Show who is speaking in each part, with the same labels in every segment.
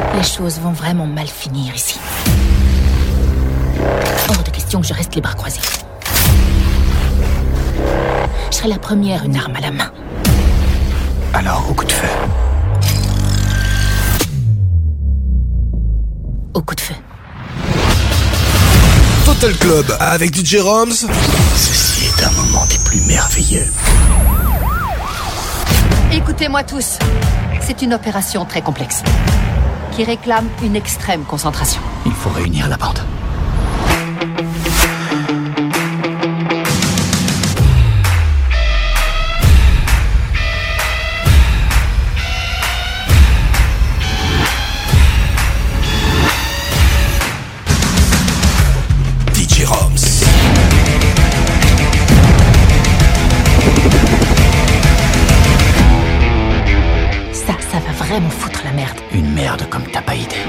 Speaker 1: Les choses vont vraiment mal finir ici. Hors de question que je reste les bras croisés. Je serai la première, une arme à la main.
Speaker 2: Alors, au coup de feu.
Speaker 1: Au coup de feu.
Speaker 3: Total Club avec DJ Roms.
Speaker 2: Ceci est un moment des plus merveilleux.
Speaker 4: Écoutez-moi tous. C'est une opération très complexe qui réclame une extrême concentration.
Speaker 2: Il faut réunir la bande.
Speaker 3: DJ Roms.
Speaker 1: Ça va vraiment foutre la merde.
Speaker 2: Une merde comme t'as pas idée.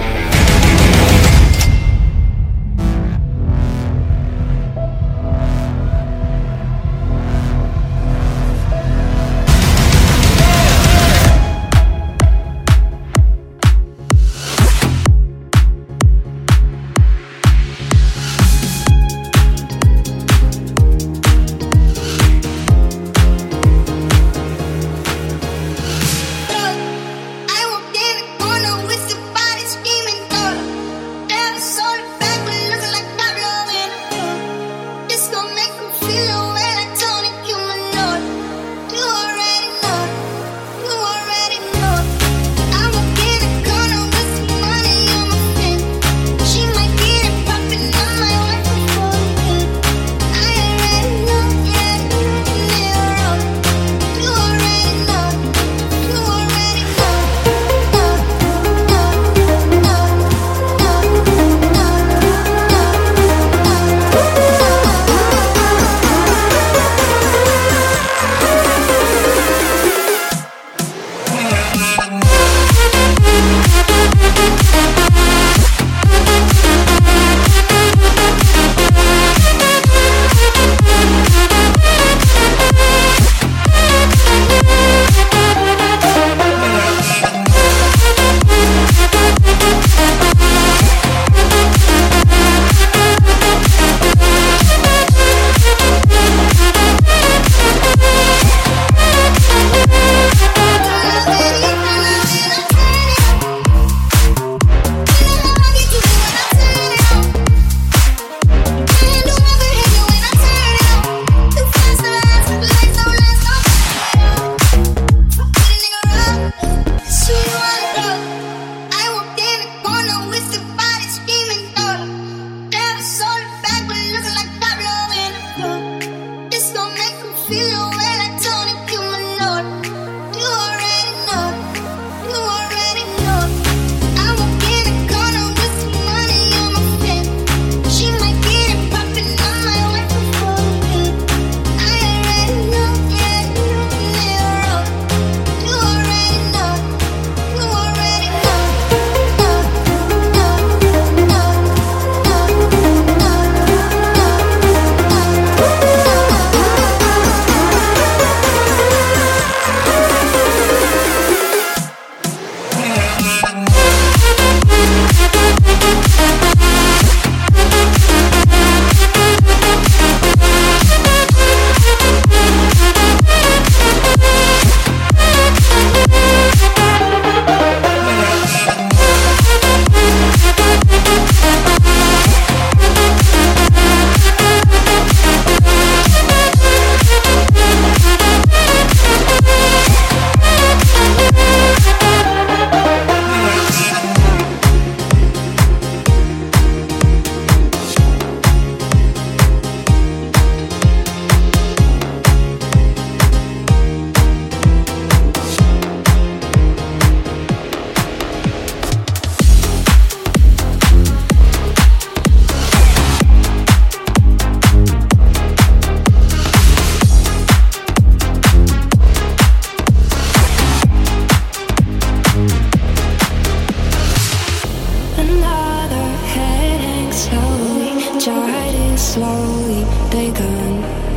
Speaker 5: slowly begun,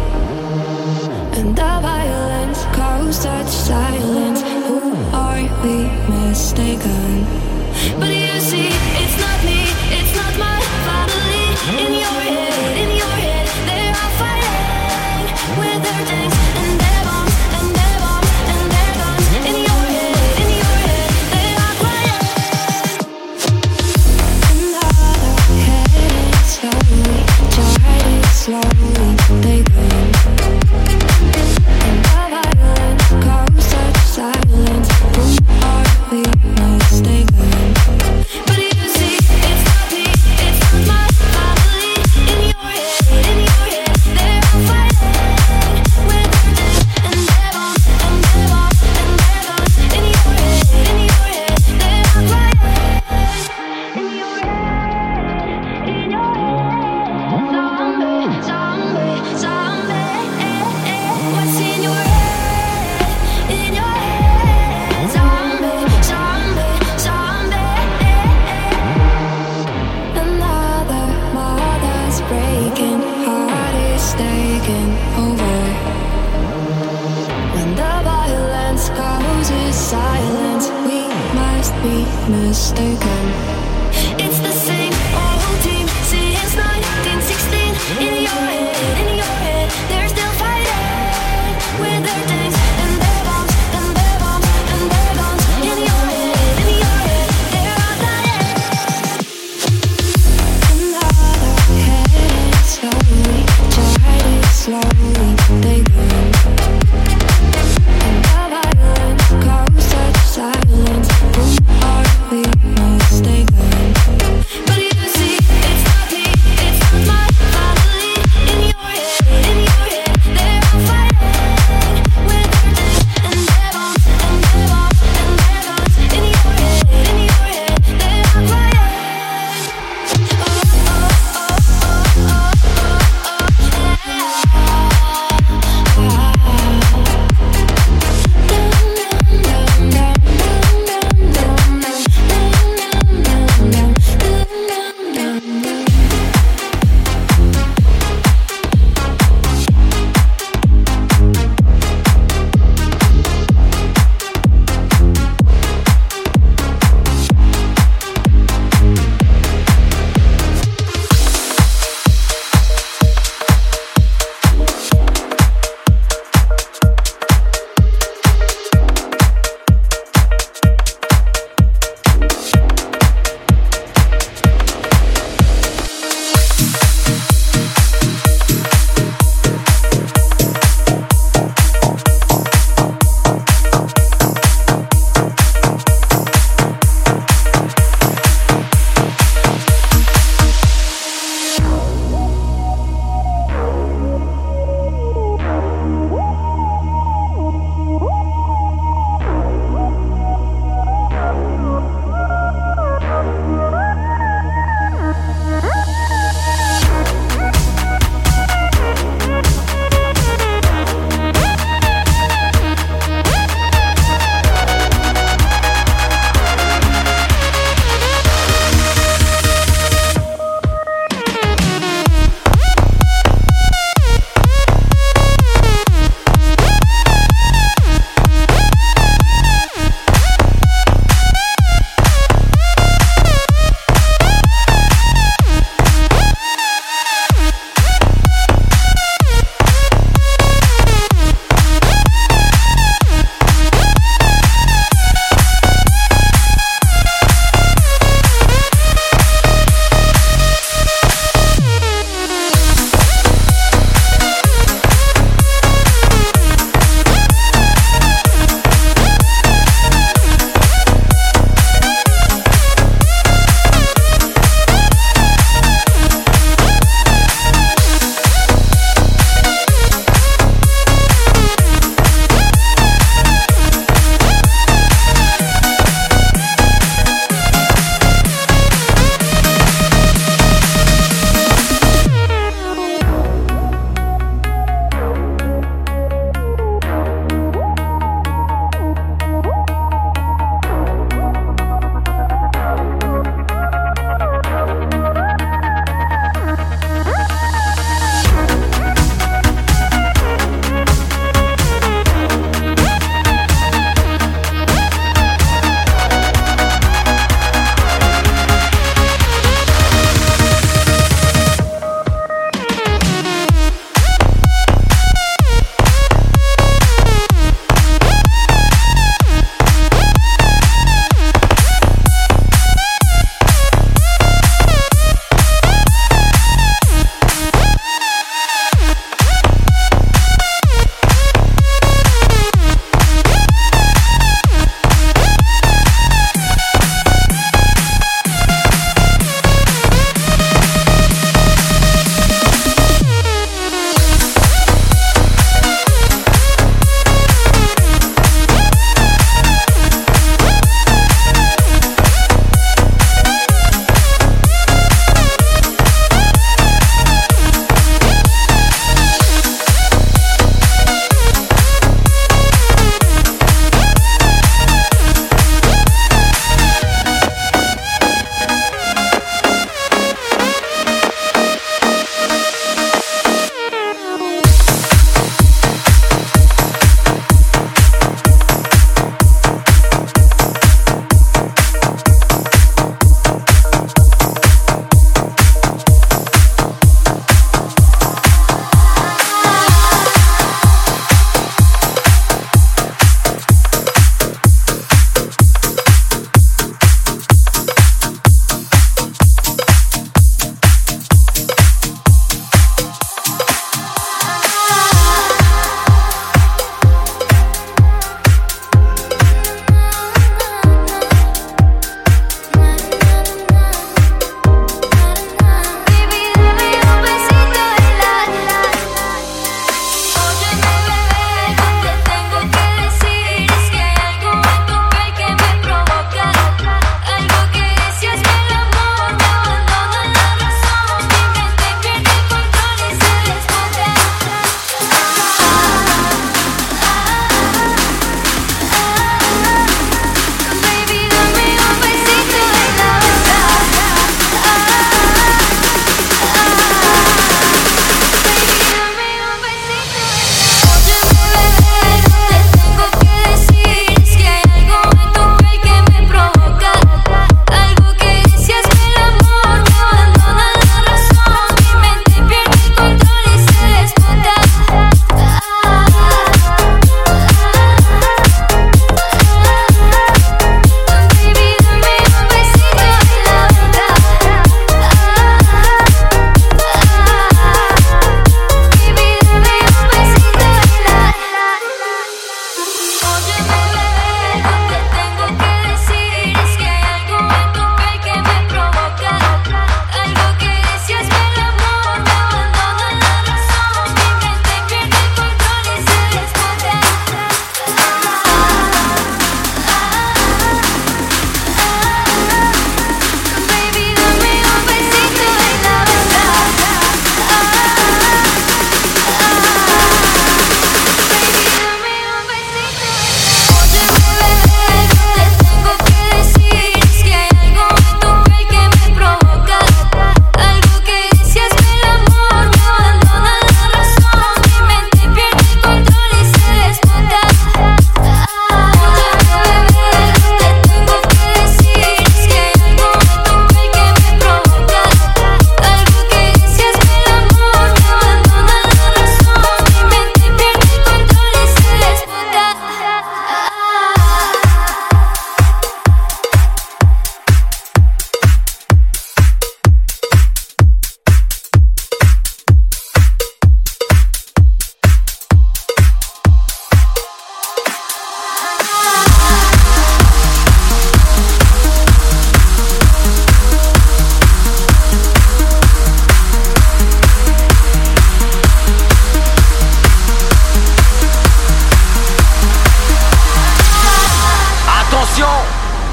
Speaker 5: and the violence caused such silence. Who are we mistaken? Silence, who are we mistaken?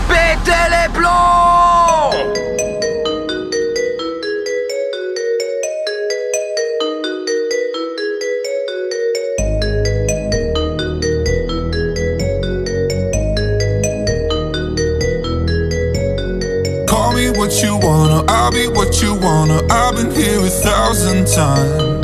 Speaker 6: Pétez les plombs!
Speaker 7: Call me what you wanna, I'll be what you wanna. I've been here 1,000 times.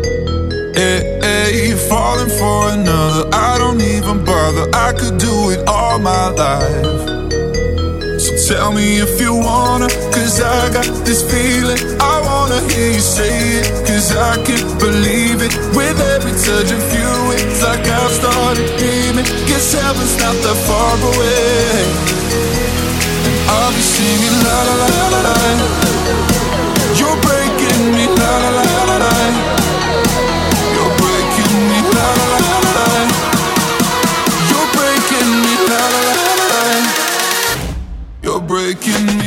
Speaker 7: Hey, falling for another, I don't even bother. I could do it all my life. So tell me if you wanna, cause I got this feeling. I wanna hear you say it, cause I can't believe it. With every touch of you, it's like I've started dreaming. Guess heaven's not that far away. I'll be singing la la la la la. You're breaking me la la la la la. You're breaking me la la la la la. You're breaking me la la la la la. You're breaking me.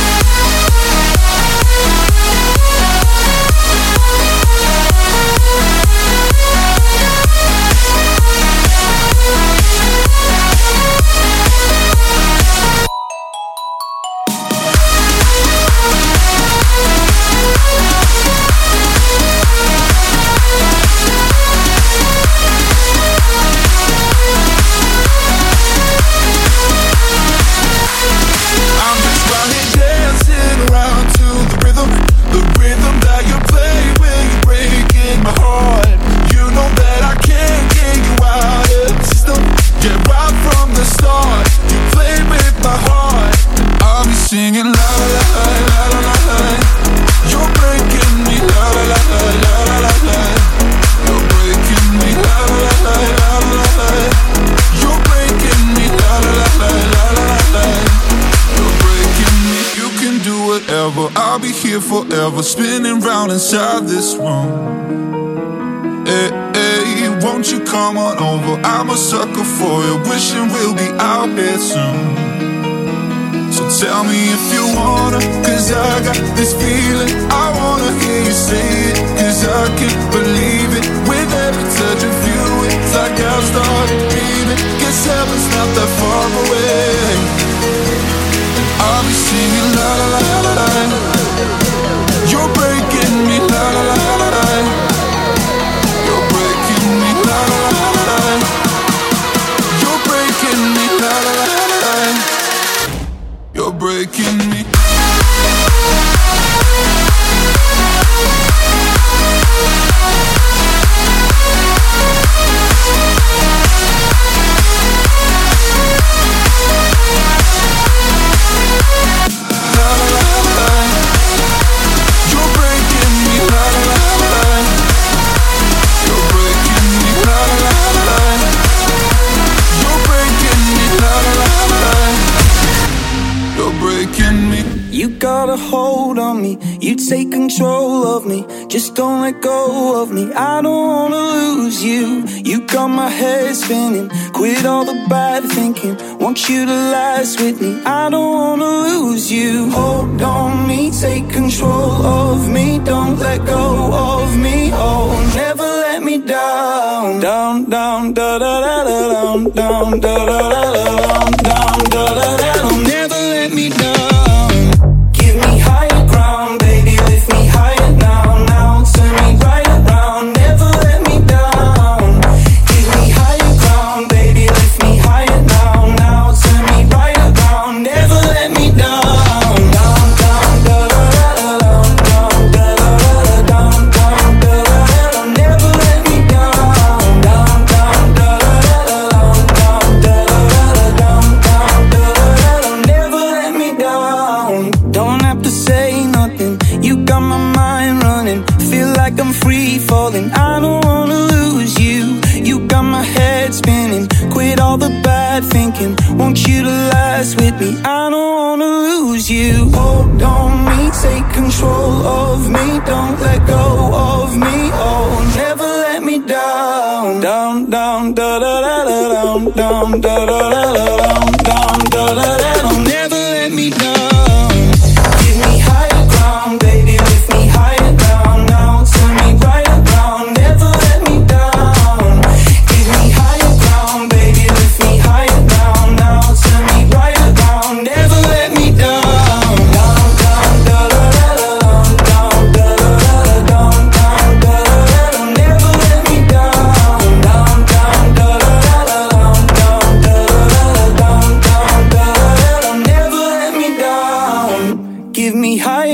Speaker 7: Singing la la la la la la la. You're breaking me la la la la la la la la. You're breaking me la la la la la la la. You're breaking me la la la la la la la. You're breaking me. You can do whatever, I'll be here forever, spinning round inside this room. Hey, hey, won't you come on over? I'm a sucker for you, wishing we'll be out here soon. So tell me if you wanna, cause I got this feeling. I wanna hear you say it, cause I can't believe it. With every touch of you, it's like I've started dreaming. Guess heaven's not that far away. I'll be singing la la la la la. You're breaking me la la la la la. You're breaking me la la la la la. You're breaking me la la la la la. You're breaking me.
Speaker 8: You got a hold on me, you take control of me. Just don't let go of me, I don't wanna lose you. You got my head spinning, quit all the bad thinking. Want you to last with me, I don't wanna lose you. Hold on me, take control of me. Don't let go of me, oh, never let me down. Down, down, da da da da, down, down, da da da da, down, da da da da. Never let me down. I don't wanna lose you. You got my head spinning, quit all the bad thinking. Want you to last with me, I don't wanna lose you. Hold on me, take control of me. Don't let go of me, oh, never let me down. Down, down, da da da da, down, down, da da da da, down, down, da da da da. Never let me down. Give me higher ground, baby, lift me higher down. Now turn me right around, never let me down. Give me higher ground, baby, lift me higher down. Now turn me right around.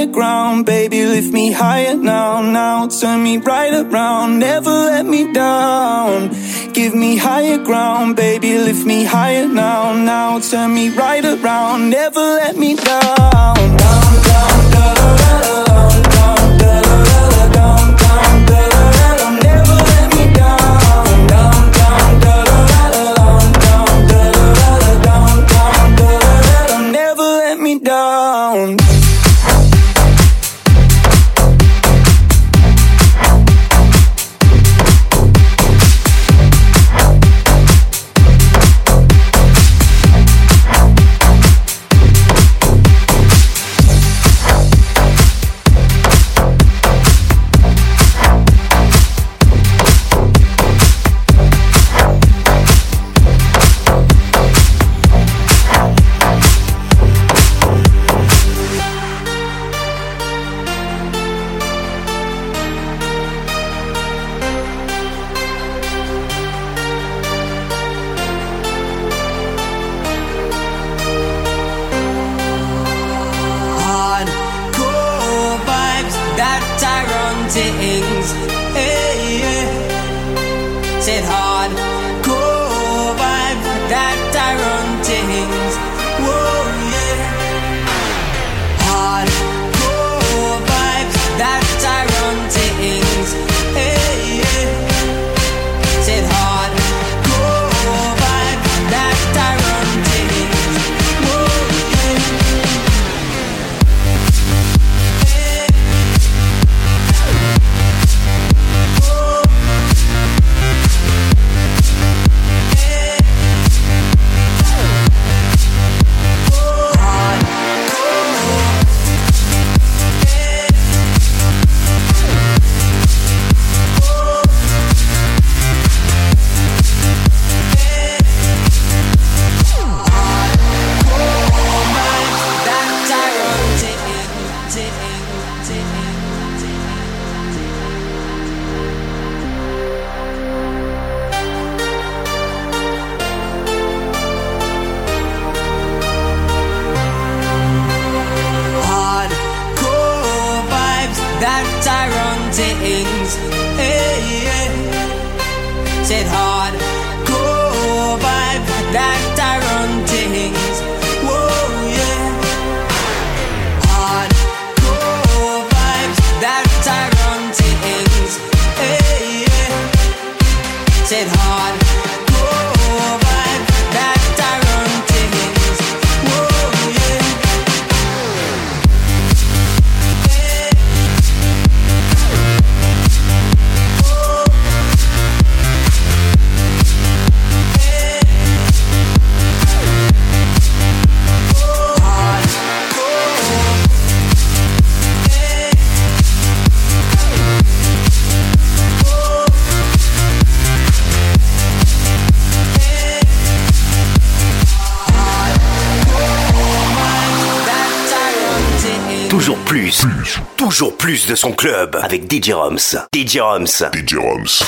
Speaker 8: ground, baby, lift me higher now, now. Turn me right around, never let me down. Give me higher ground, baby, lift me higher now, now. Turn me right around, never let me down. Down, down, da da da da, down, da da da da, down, da da da da, never let me down. Down, down, da da da da, down, da da da da, down, down, da da da da, never let me down.
Speaker 6: things. Hey, yeah. Said hardcore vibe that I run things. Whoa, yeah. Hardcore vibes that I run things. Hey, yeah. Said hardcore vibe that I run things. Whoa, yeah. That I run things, hey, yeah. Said hardcore vibe that I run things, whoa, yeah. Hardcore vibes that I run things, hey, yeah. Said hardcore vibe that I run things, whoa, yeah.
Speaker 9: Toujours plus de son club avec DJ Roms. DJ Roms.
Speaker 10: DJ Roms.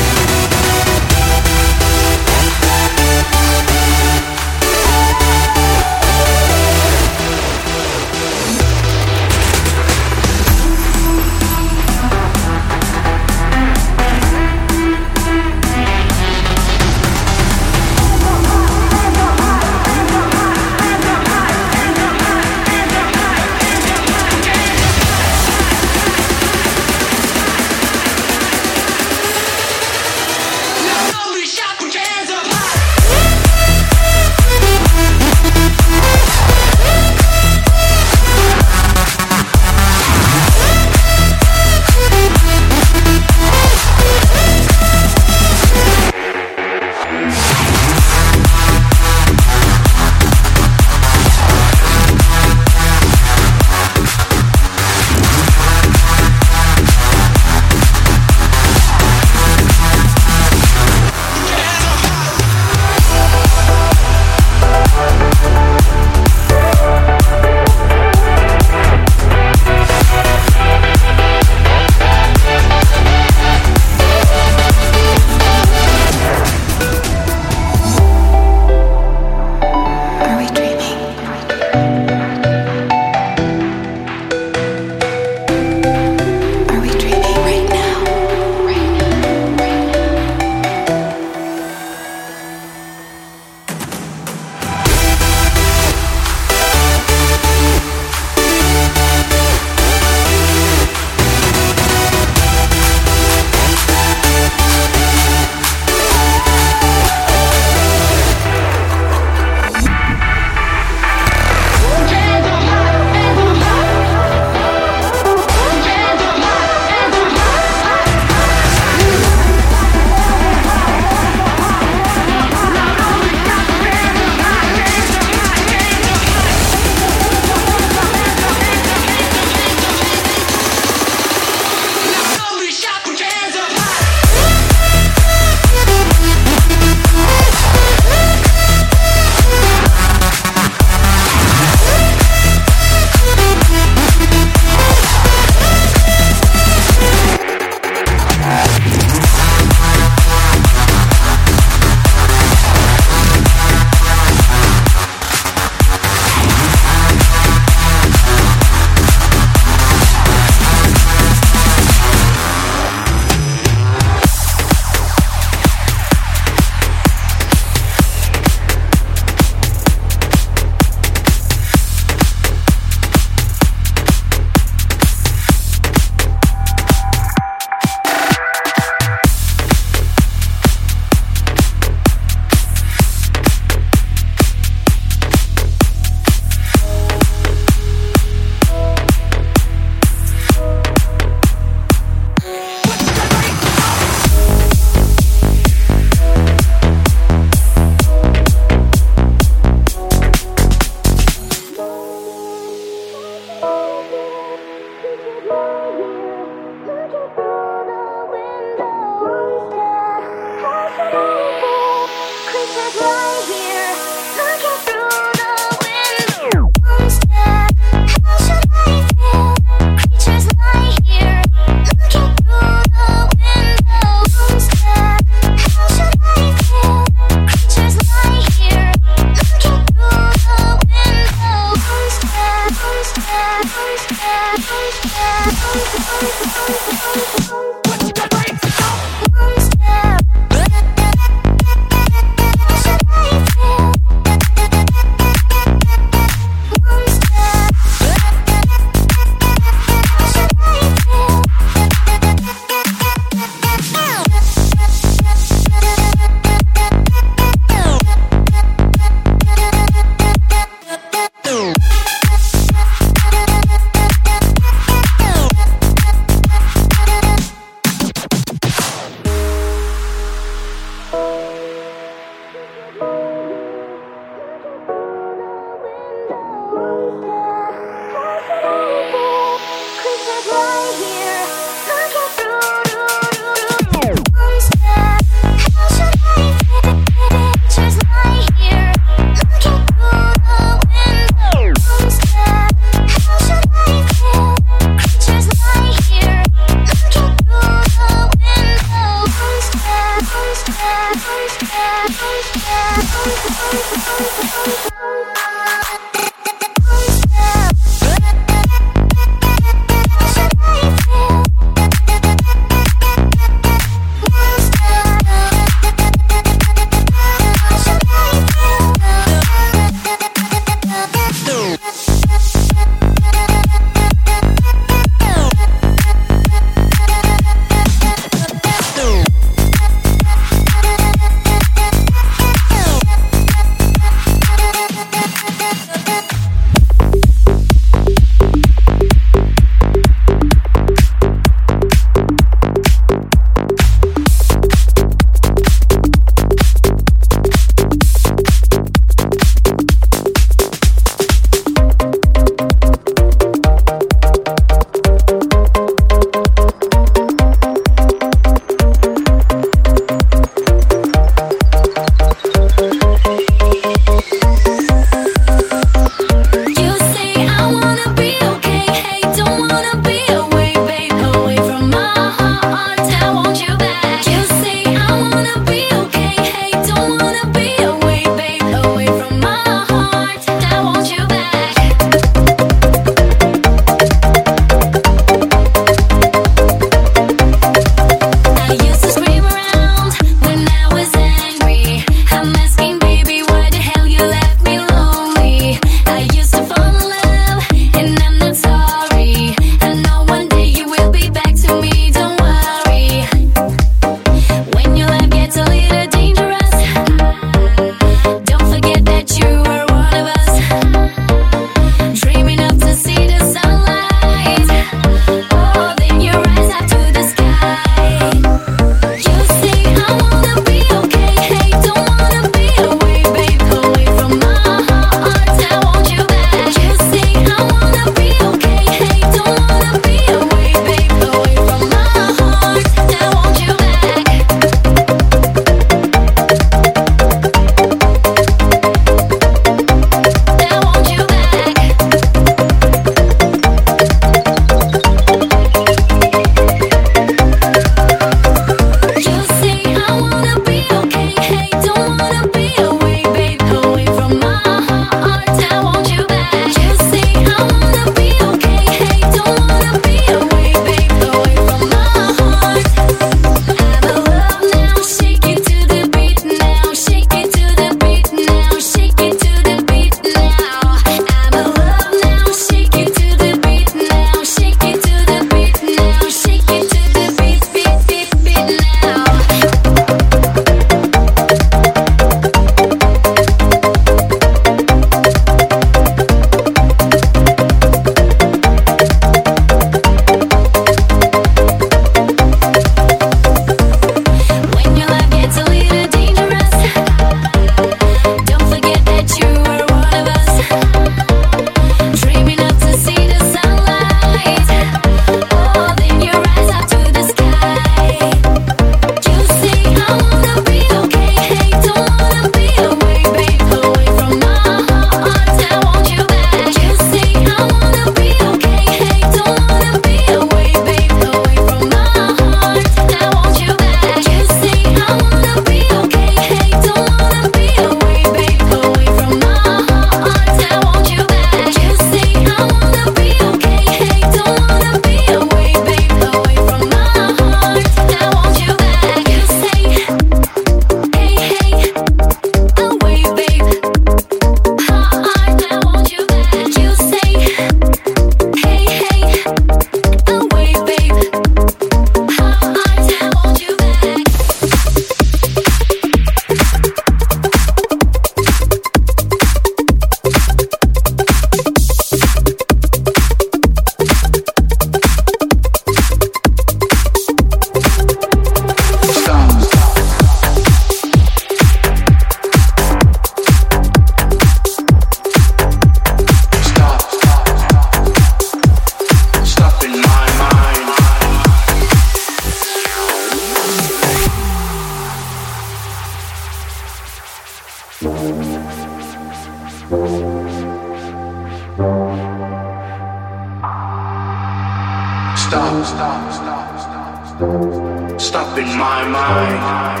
Speaker 10: Stop in my mind.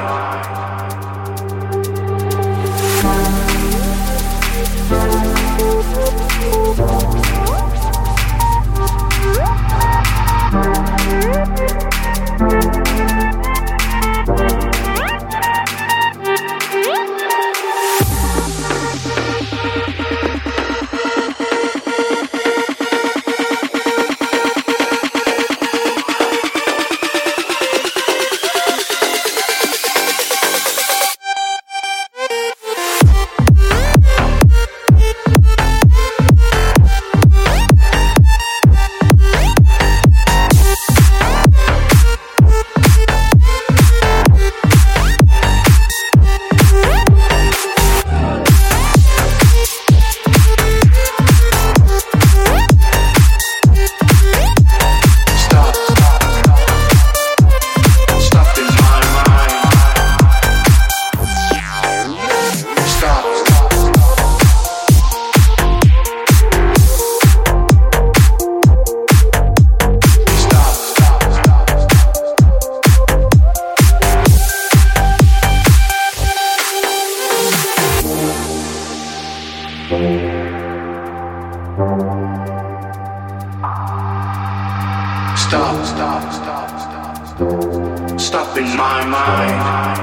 Speaker 10: Stop in my mind.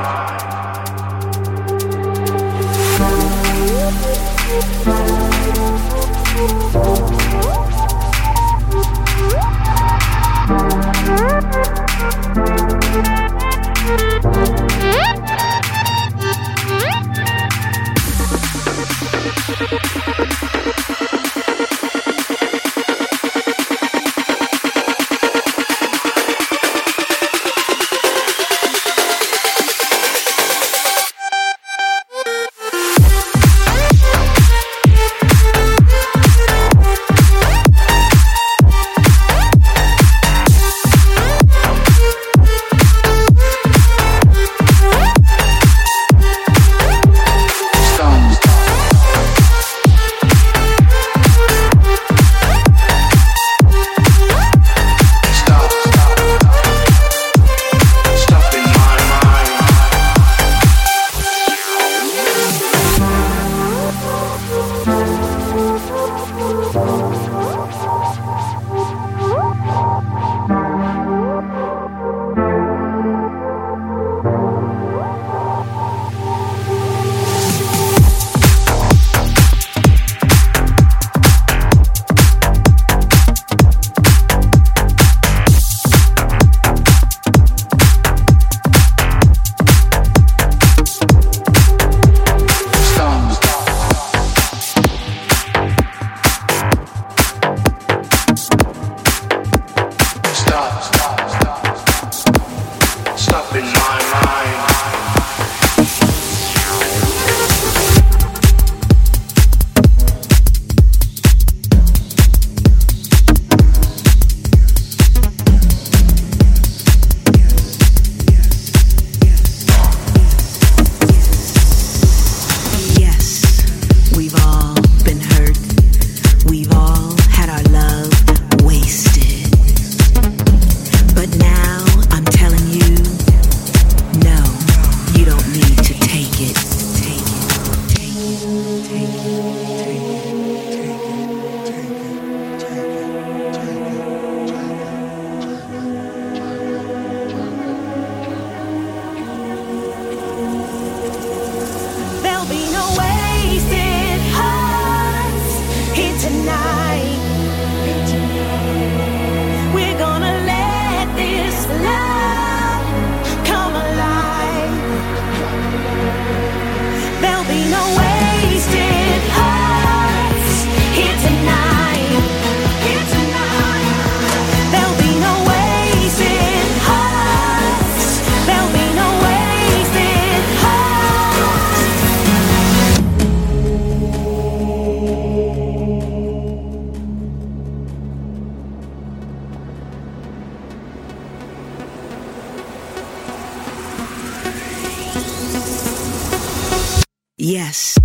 Speaker 11: Yes.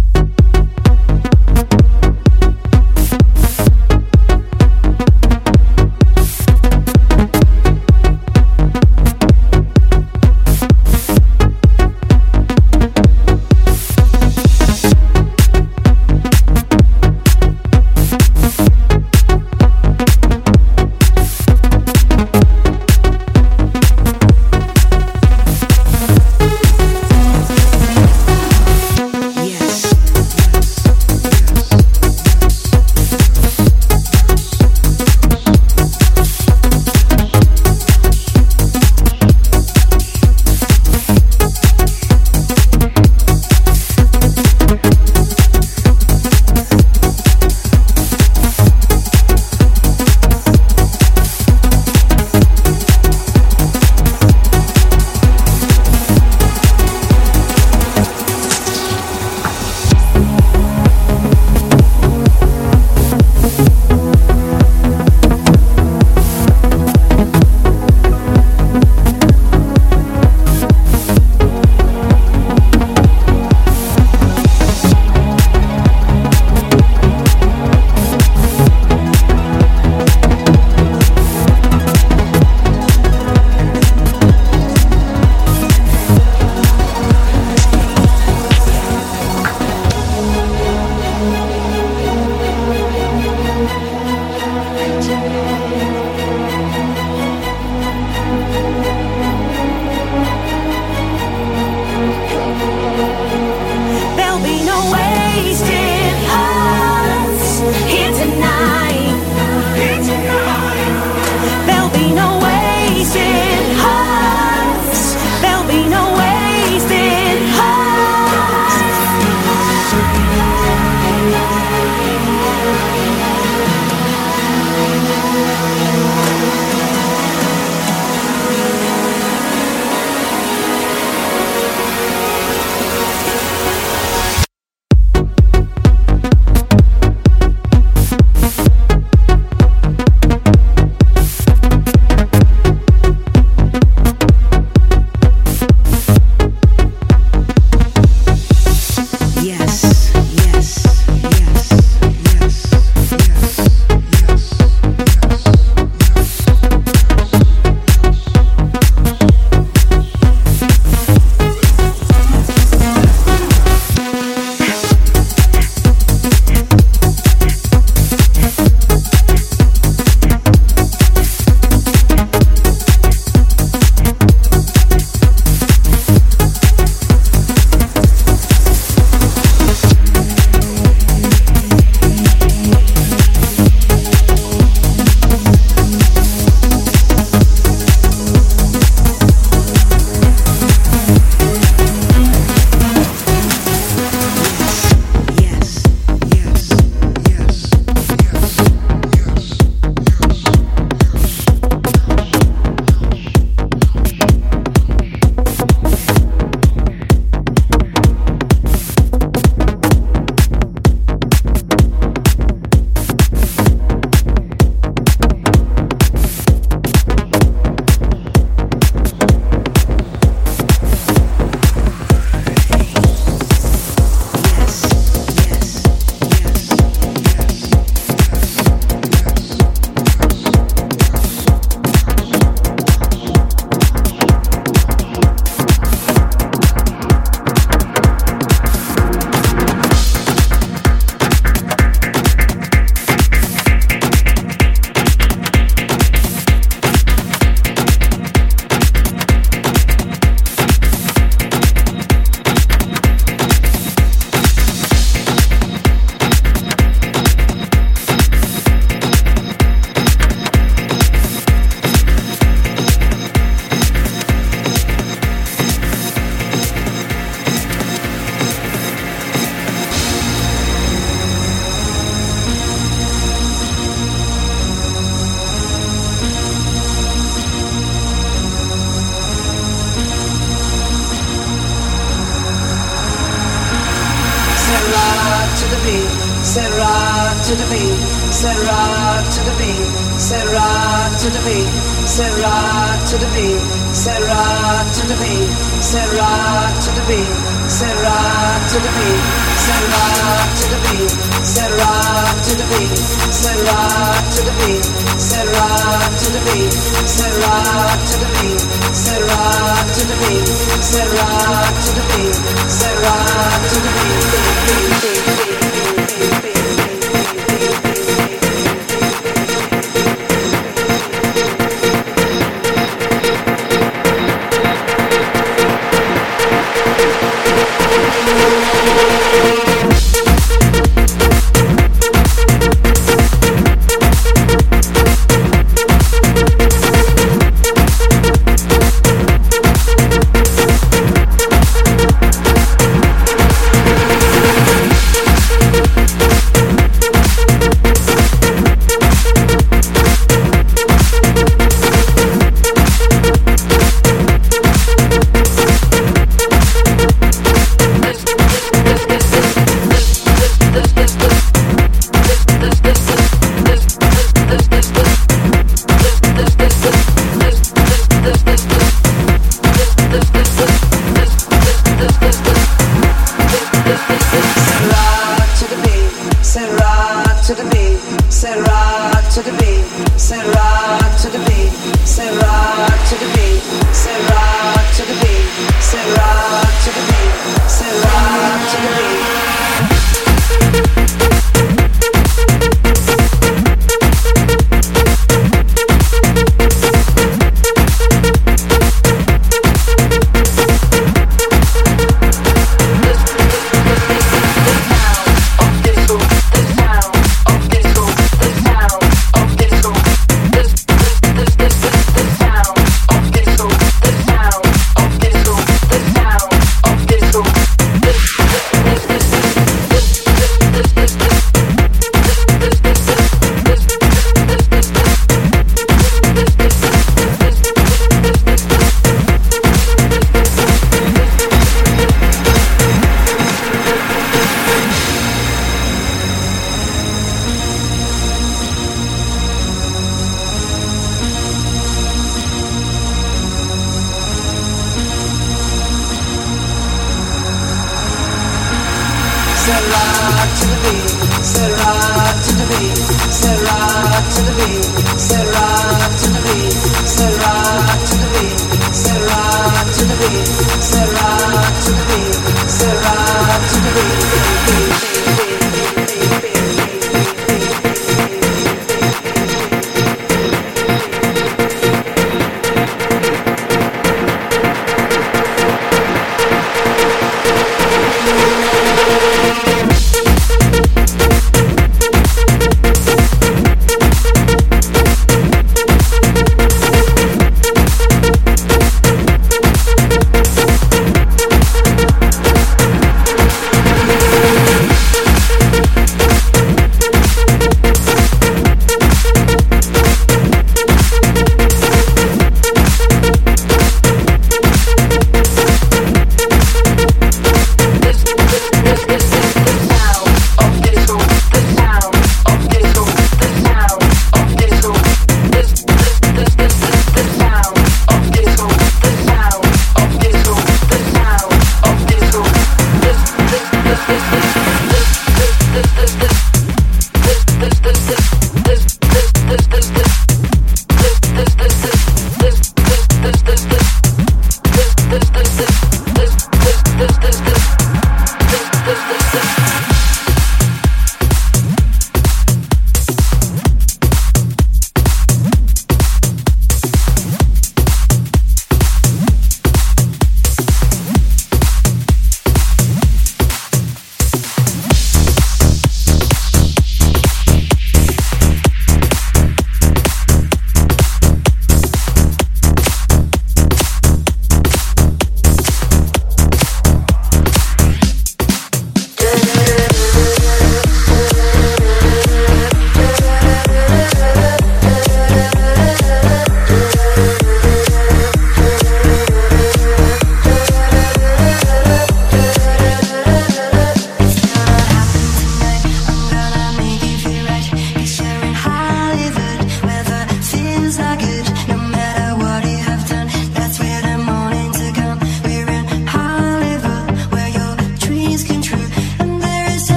Speaker 6: to the beat, say rock to the beat, say rock to the beat, say rock to the beat, say rock to the beat, say rock to the beat, say rock to the beat, say rock to the beat, say rock to the beat, say rock to the beat, say rock to the beat, say rock to the beat, say rock to the beat, say rock to the beat, say rock to the beat.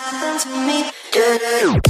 Speaker 5: happened to me. Do-do.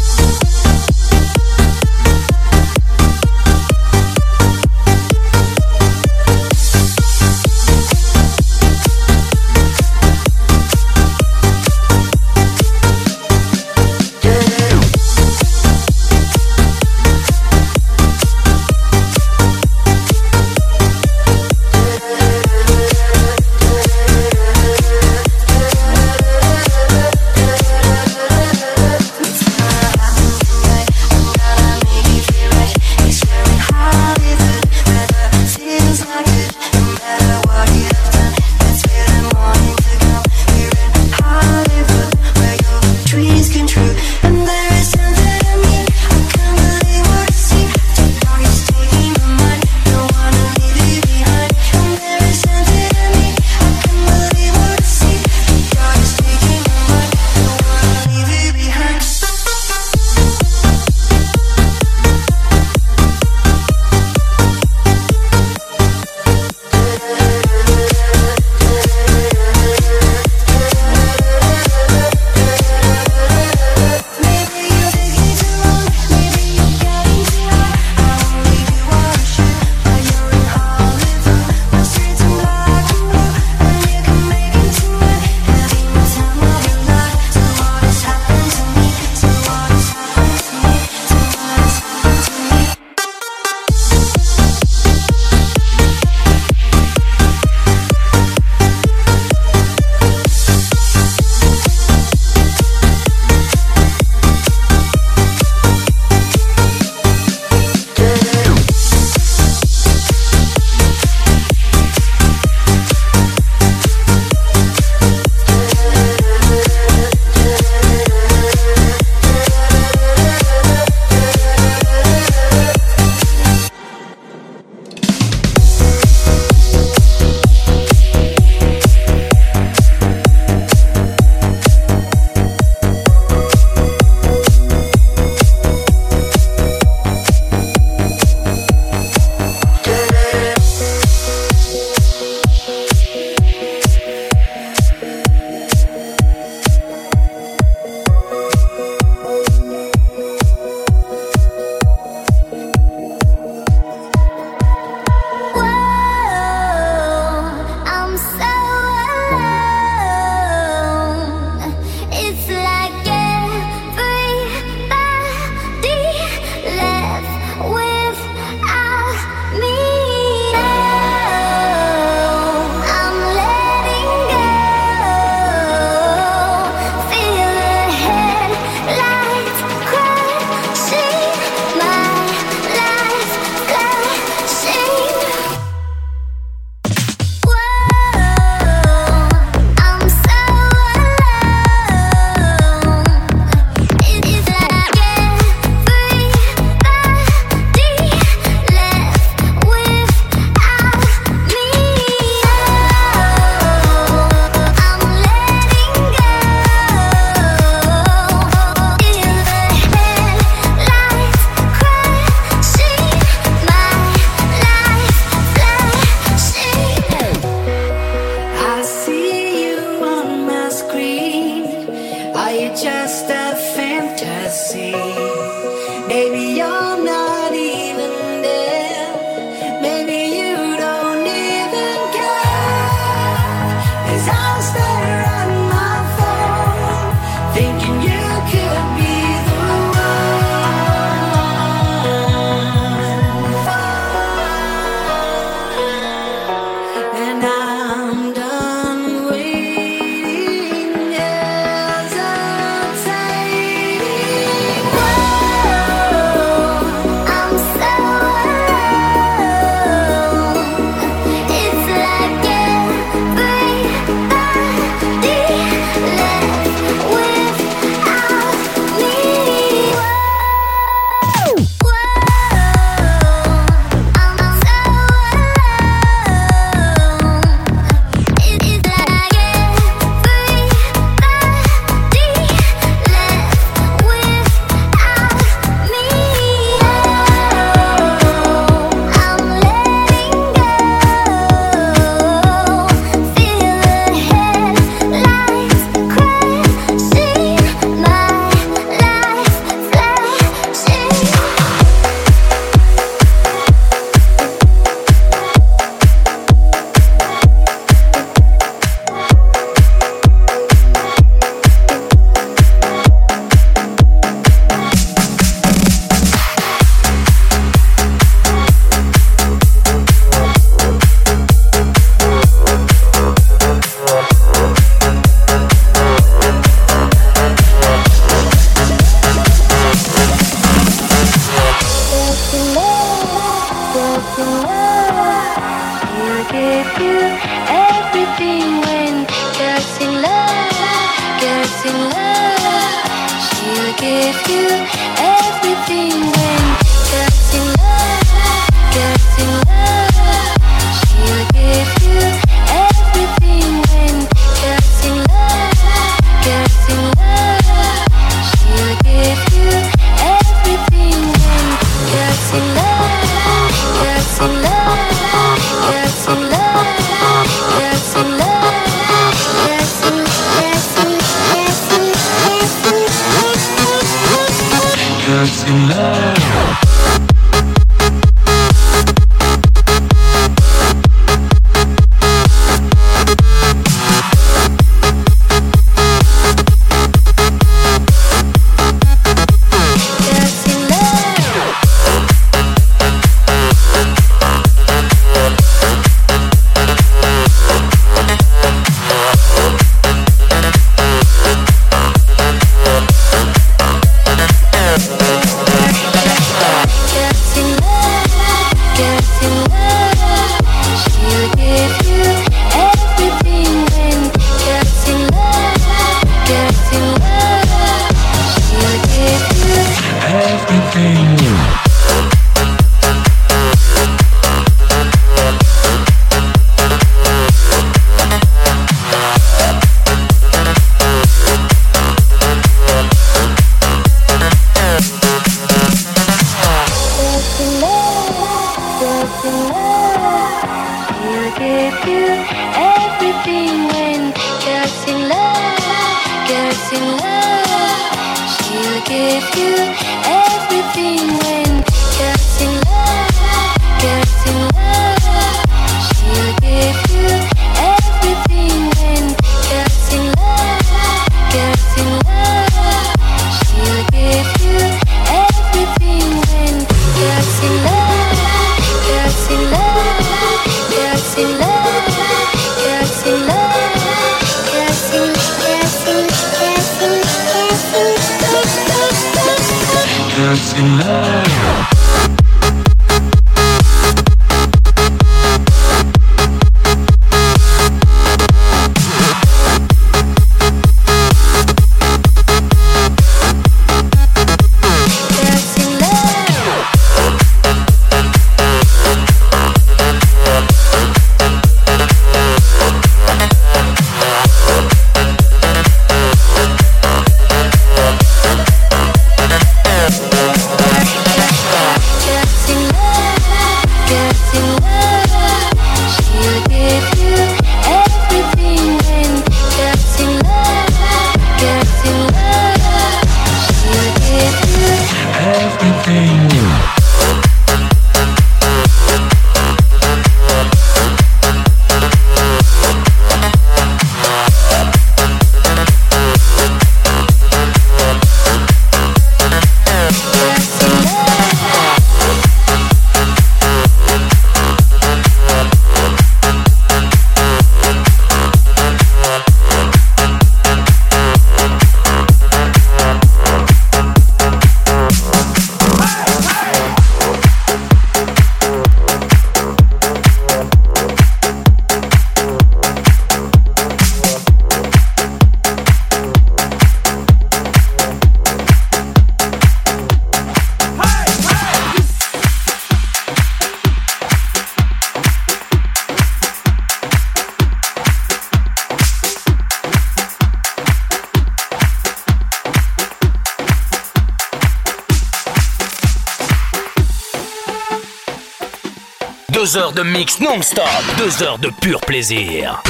Speaker 12: 2 heures de mix non-stop, 2 heures de pur plaisir.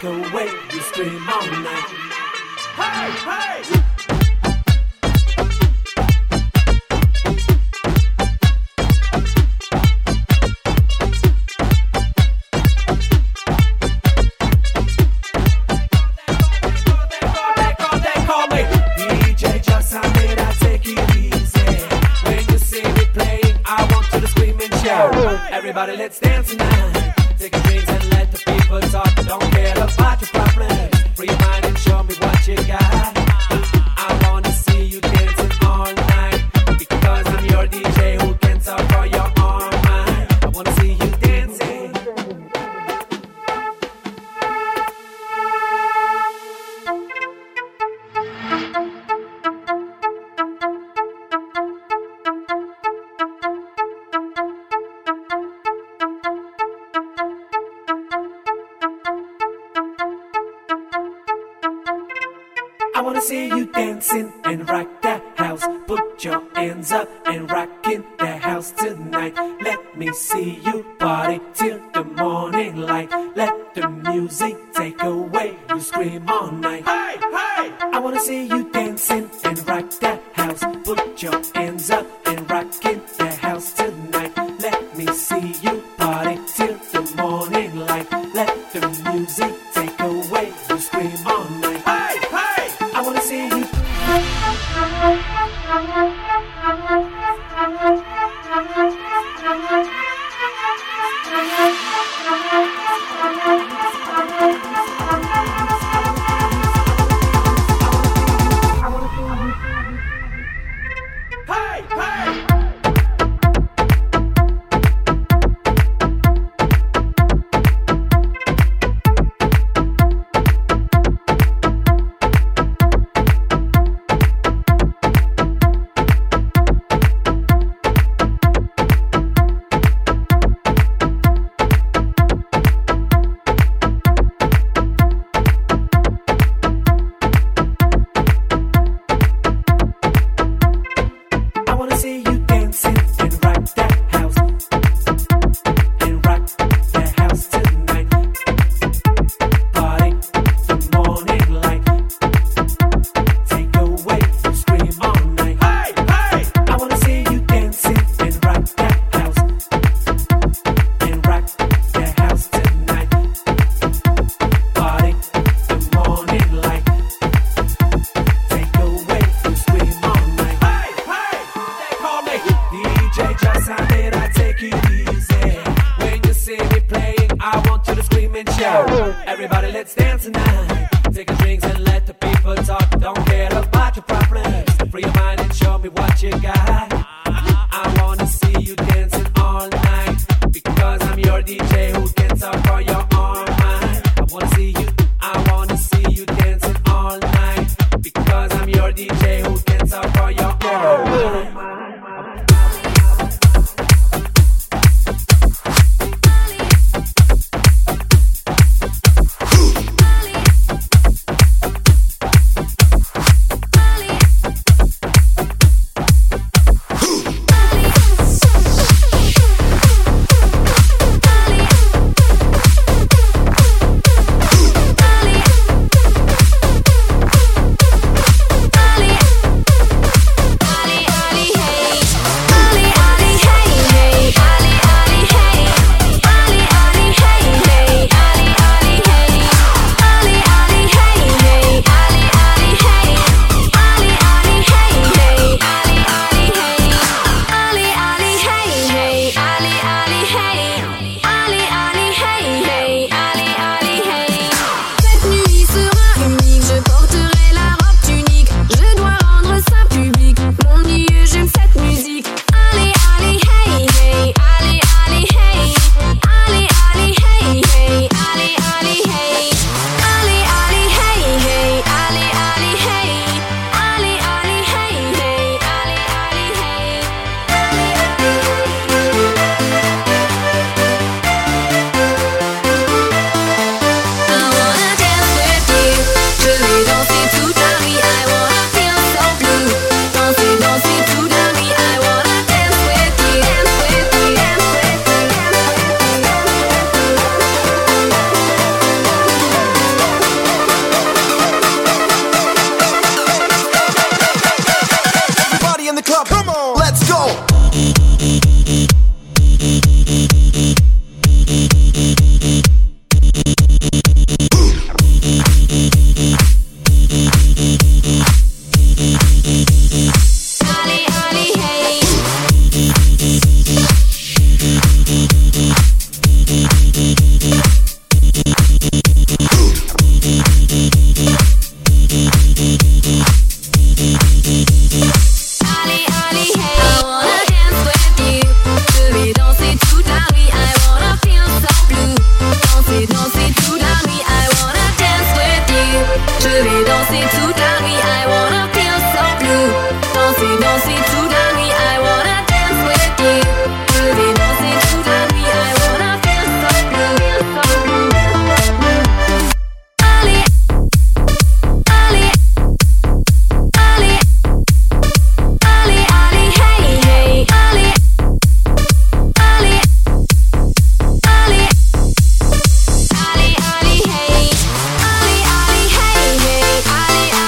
Speaker 13: away, you scream all night. Hey, hey!
Speaker 6: Everybody, let's dance tonight. Take a drink and let the people talk. Don't care about your problems. Free your mind and show me what you got. I wanna see you dancing all night, because I'm your DJ who can talk for your all night. I wanna see you dancing. I wanna see you dancing and rock that house. Put your hands up and rockin' the house tonight. Let me see you party till the morning light. Let the music take away, you scream all night. Hey, hey! I wanna see you dancing and rock that house. Put your hands up and rockin' the house tonight. Let me see you party till the morning light. Let the music take away, you scream all night. Hey, hey! I wanna see you. Hey, hey! Everybody, let's dance tonight. Take a drink and let the people talk. Don't care about your problems. Free your mind and show me what you got. I wanna see you dancing all night, because I'm your DJ who can talk for your all night. I wanna see you dancing all night, because I'm your DJ who can talk for your all night.
Speaker 14: Ali,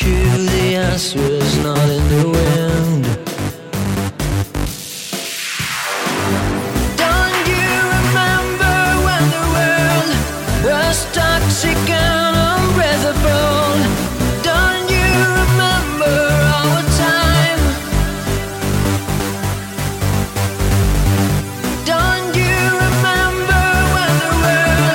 Speaker 14: sure the answer is not in the wind. Don't you remember when the world was toxic and unbreathable? Don't you remember our time? Don't you remember when the world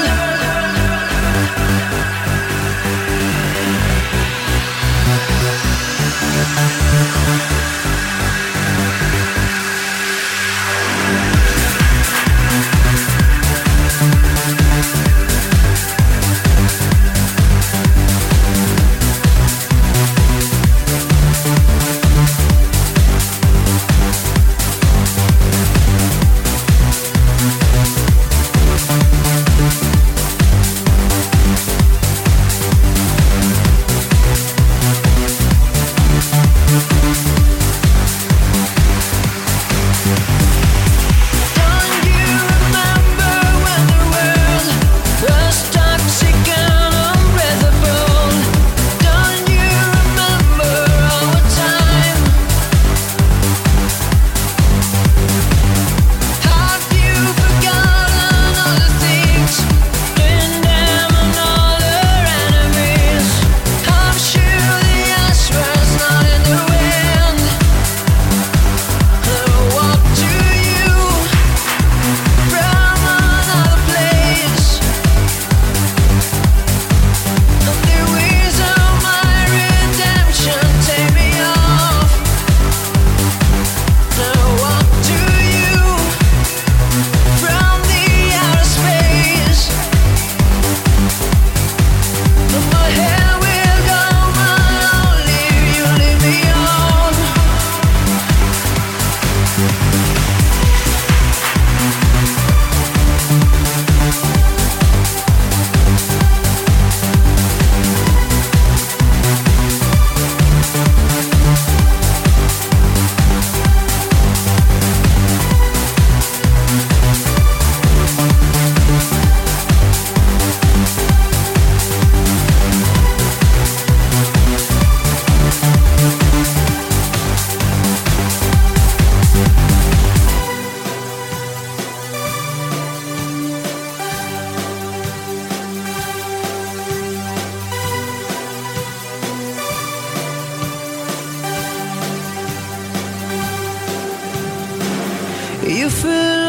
Speaker 14: you feel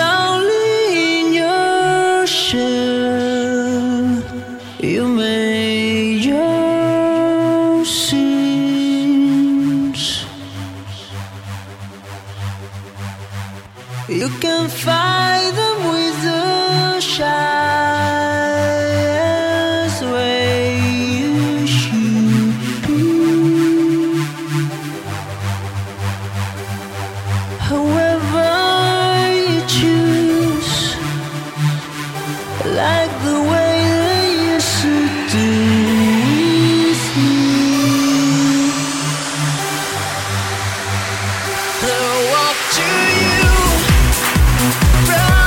Speaker 14: lonely in your shell. You made your sins. You can fight them with the shyest way you should be. However you choose, like the way they used to do with me. They'll walk to you from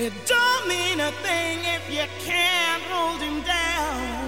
Speaker 8: It don't mean a thing if you can't hold him down.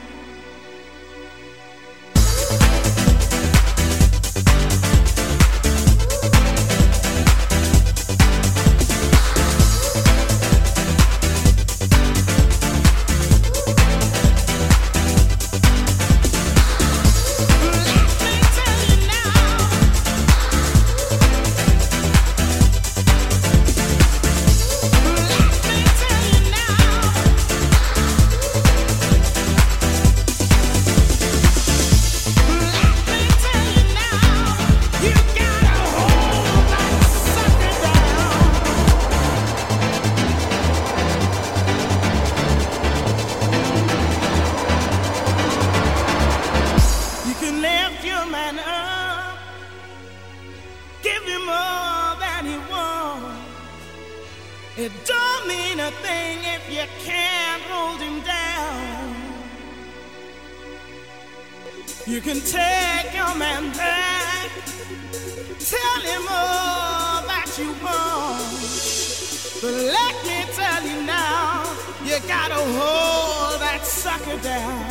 Speaker 8: It don't mean a thing if you can't hold him down. You can take your man back, tell him all that you want. But let me tell you now, you gotta hold that sucker down.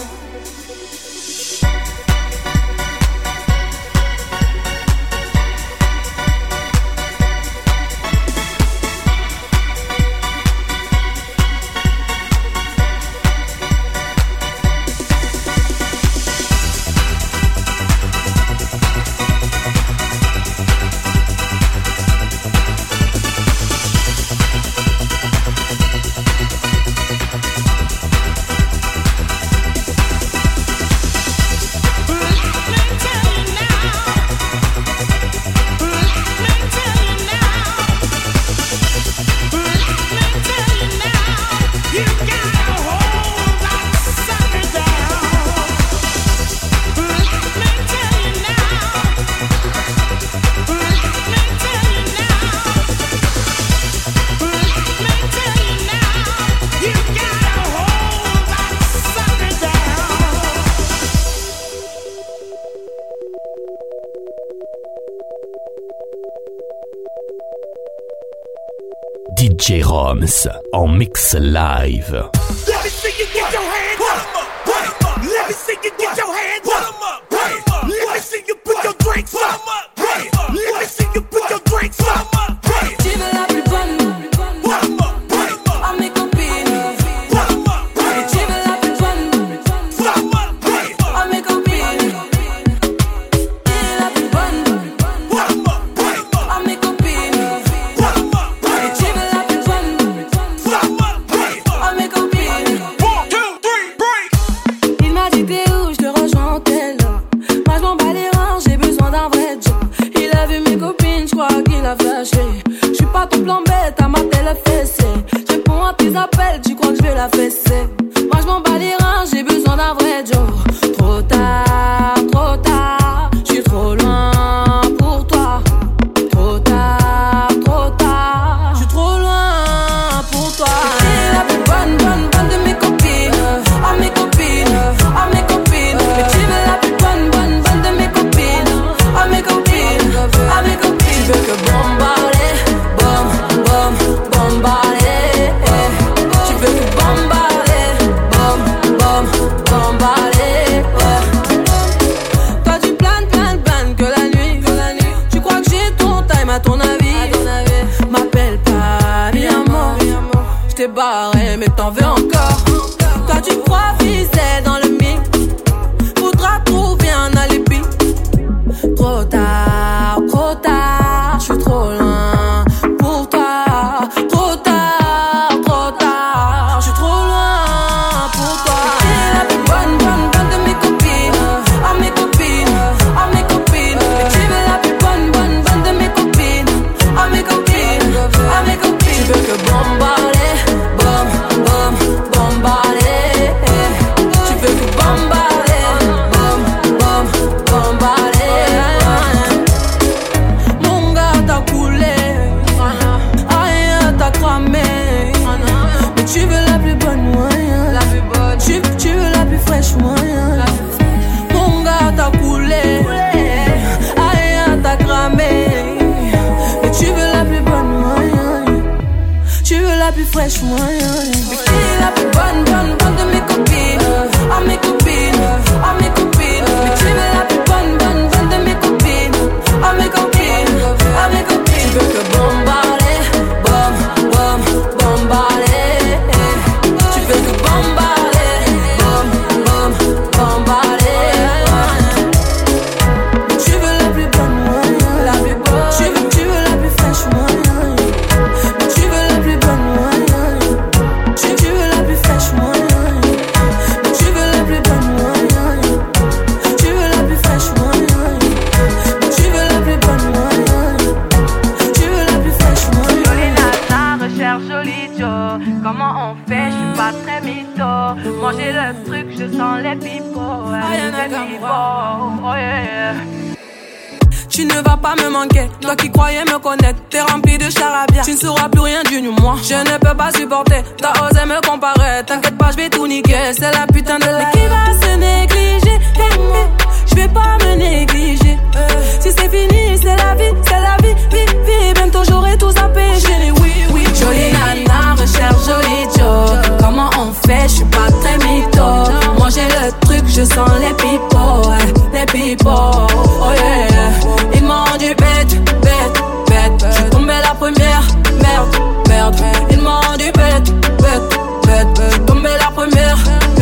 Speaker 12: DJ Roms en mix live.
Speaker 15: Let me see you get your hands up. Let me see you get your hands up. Let me see you put your drinks up. Let me see you put your drinks up.
Speaker 16: Tu veux la plus bonne à mes copines. Et tu veux la plus bonne à mes copines. Tu es la plus bonne à mes copines. Et tu veux la plus bonne à mes copines.
Speaker 15: 1, 2, 3, break.
Speaker 16: Il m'a dit t'es où, je te rejoins en tel. Moi je m'en bats les reins, j'ai besoin d'un vrai job. Il a vu mes copines, je crois qu'il a flashé. Je suis pas ton plan bête, à m'appeler le fessé. Je réponds à tes appels, tu crois que je vais la fesser. Moi je m'en bats les reins, j'ai besoin d'un vrai job. Trop tard, je suis trop loin pour toi. Trop tard, je suis trop loin pour toi. T'es la plus bonne de mes copines. À mes copines, à mes copines. Mais tu veux la plus bonne de mes copines. À mes copines, à mes copines. Tu veux que bombarder, bombarder. Tu veux que bombarder, bombarder. Toi tu planes que la nuit. Tu crois que j'ai ton time à ton avis. M'appelle pas mi amor. J't'ai barré mais t'en veux encore. Toi tu crois viser dans le mix. Faudra trouver un alibi. Trop tard, je suis trop loin pour toi. Trop tard, je suis trop loin pour toi. T'es la plus bonne de mes copines. À mes copines, à mes copines. Mais tu veux la plus bonne de mes copines. À mes copines, à mes copines. Tu veux que bombarder, fraîche, moi. Mais qui est la plus bonne de mes copines? À mes copines, à mes copines. Mais tu veux la plus bonne de mes copines? À mes copines, à mes copines. Tu veux que bombarder, bombarder. Tu veux que bombarder, bombarder. Tu veux la plus bonne, moi. La plus bonne. Tu veux la plus fraîche, moi. Tu veux la plus bonne, moi. Tu veux la plus fraîche, moi. Tu veux la plus bonne, moi. Tu veux la plus fraîche, moi. Tu veux la plus bonne, moi. Tu veux la plus fraîche, moi.
Speaker 17: Jolie nana, recherche joli Joe. Comment on fait? Je suis pas très mytho. Manger le truc, je sens les pipeaux. Oh yeah.
Speaker 16: Tu ne vas pas me manquer, toi qui croyais me connaître. T'es rempli de charabia, tu ne sauras plus rien du moi. Je ne peux pas supporter, t'as osé me comparer. T'inquiète pas, je vais tout niquer, c'est la putain de la. Mais qui va se négliger? Je vais pas me négliger. Si c'est fini, c'est la vie, vie. Bientôt j'aurai tout zappé, chérie, oui. Jolie nana, recherche joli Joe. Comment on fait? Je suis pas très mytho. Manger le truc, je sens les pipeaux, les pipeaux. Oh yeah. Ils m'ont rendu bête. Je suis tombée la première, merde. Ils m'ont rendu bête. Je suis tombée la première,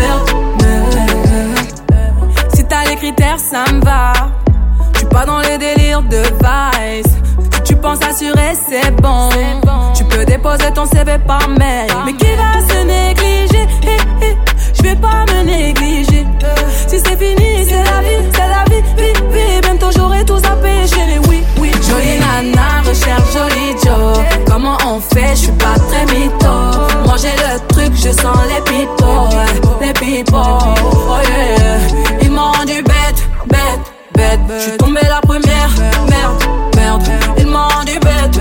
Speaker 16: merde. Si t'as les critères, ça me va. Je suis pas dans les délires de vice. Si tu penses assurer, c'est bon. Tu peux déposer ton CV par mail. Mais qui va se négliger? Je vais pas me négliger. Si c'est fini, c'est la vie, vie. Bientôt j'aurai tout zappé, chérie, oui. Jolie nana, recherche joli Joe. Comment on fait? Je suis pas très mytho. Manger le truc, je sens les pipeaux, oh yeah. Ils m'ont rendu bête. Je suis tombée la première, merde. Ils m'ont rendu bête.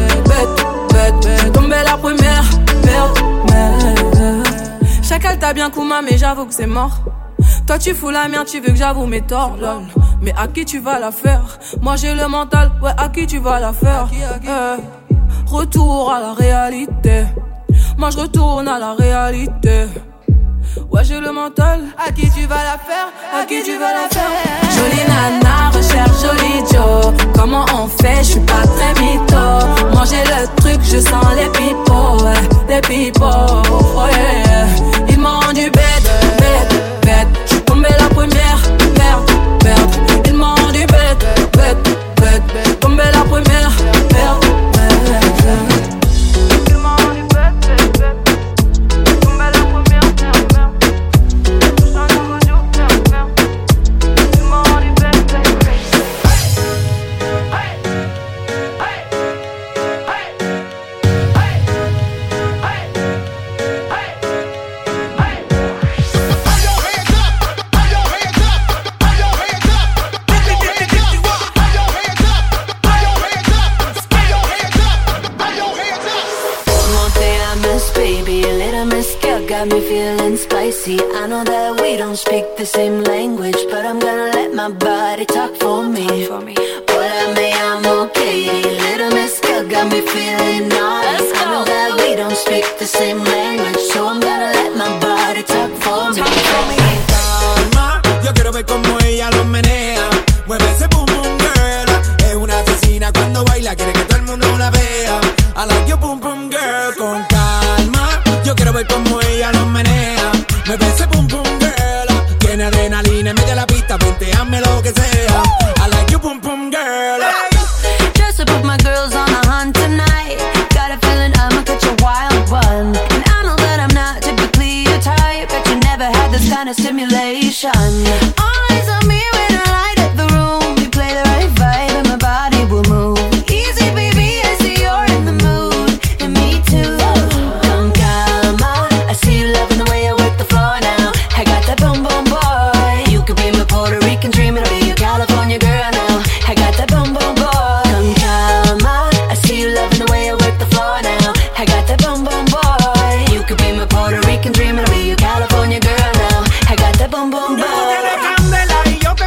Speaker 16: Je suis tombée la première, merde. Chacal t'a bien Kouma, mais j'avoue que c'est mort. Toi tu fous la merde, tu veux que j'avoue mes torts, lol. Mais à qui tu vas la faire? Moi j'ai le mental, ouais, à qui tu vas la faire? Retour à la réalité. Moi je retourne à la réalité. Ouais, j'ai le mental. À qui tu vas la faire? À qui tu vas la faire? Jolie nana, recherche joli Joe. Comment on fait? Je suis pas très mytho. Manger le truc, je sens les pipeaux, oh yeah. Ils m'ont rendu bête. Je suis tombée la première, merde. Ils m'ont rendu bête. Tombée la première, merde.
Speaker 5: Got me feeling spicy. I know that we don't speak the same language, but I'm gonna let my body talk for me. Hola, me llamo Katie. Little Miss Girl got me feeling naughty. I know that we don't speak the same language, so I'm gonna let my body talk for me.
Speaker 18: Calma, yo quiero ver cómo ella lo menea. Mueve ese boom boom girl. Es una asesina cuando baila, quiere que todo el mundo la vea. I like your boom boom girl. Con calma, yo quiero ver cómo ella lo menea. Mueve ese boom boom girl. Tiene adrenalina en medio de la pista, vente, hazme lo que sea. I like your boom boom girl.
Speaker 5: Just to put my girls on a hunt tonight. Got a feeling I'ma catch a wild one. And I know that I'm not typically your type, but you never had this kind of stimulation. Eyes on me when I light up the room. You play the right vibe and my body will move. Easy baby, I see you're in the mood. And me too. Con calma, I see you loving the way I work the floor now. I got that boom boom boy. You could be my Puerto Rican dream, it'll be your California girl now. I got that boom boom boy. Con calma, I see you loving the way I work the floor now. I got that boom boom boy. You could be my Puerto Rican dream, it'll be your California girl now. I got that boom boom boy.
Speaker 18: Tú tienes candela y yo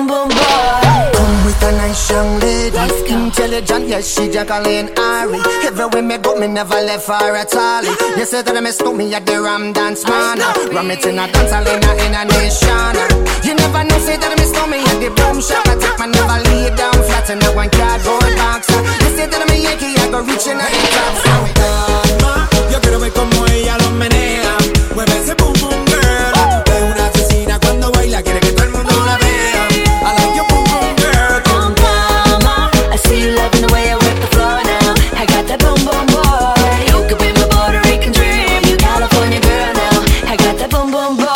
Speaker 5: boom boom boy.
Speaker 19: Come with a nice young lady, intelligent, yes, she Jacqueline Ari. Everywhere me go, me never left her at all. You say that I miss me at the Ram Dance Man. Ram it in a dance hall in a nation. You never know, say that I miss me at the boom shop. I take my never lay down flat in a one cardboard box. You say that I'm a Yankee, I go reaching out the top.
Speaker 18: Yo quiero ver como ella lo menea. Mueve ese boom boom girl. Es una asesina cuando baila, quiere que todo el mundo la vea. I like your boom boom girl.
Speaker 5: Boom boom, I see you loving the way I work the floor now. I got that boom boom boy. You could be my Puerto Rican dream. You California girl now. I got that boom boom boy.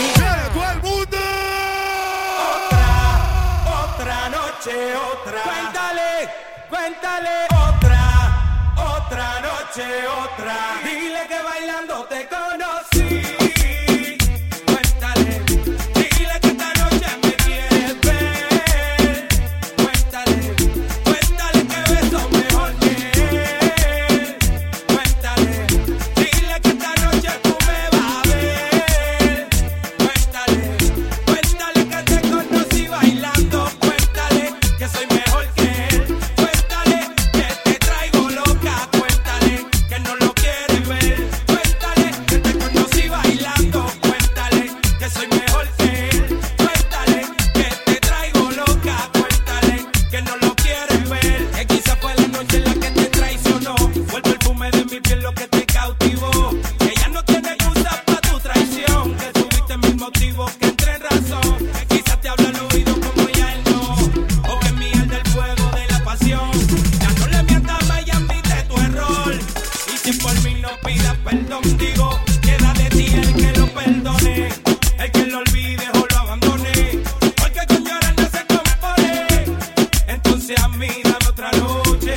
Speaker 18: Otra noche, otra. Cuéntale. Otra noche, otra. Dile que bailando te conocí. Cuéntale. Dile que esta noche me quieres ver. Cuéntale que beso mejor que él. Cuéntale. Dile que esta noche tú me vas a ver. Cuéntale que te conocí bailando. Cuéntale que soy mejor que él. Cuéntale que te traigo loca. Cuéntale que no lo quieres ver. Cuéntale que te conocí bailando. Cuéntale que soy mejor que él. Cuéntale que te traigo loca. Cuéntale que no lo quieres ver. Que quizá fue la noche en la que te traicionó. Fue el perfume de mi piel lo que te cautivó. Que ya no tiene excusa para tu traición. Que tuviste mil motivos que entré en razón. Que quizás te habla al oído como ya él no. O que mi alma del fuego de la pasión. Ya no le mientas más y admite tu error. Y si por mí no pidas perdón, digo, queda de ti el que lo perdone. El que lo olvide o lo abandone. Porque con llorar no se compone. Entonces a mí dame otra noche.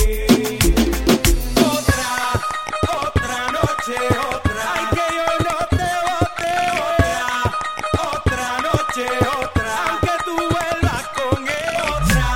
Speaker 18: Otra noche, otra. Ay, que yo no te bote. Otra noche, otra. Aunque tú vuelvas con él. Otra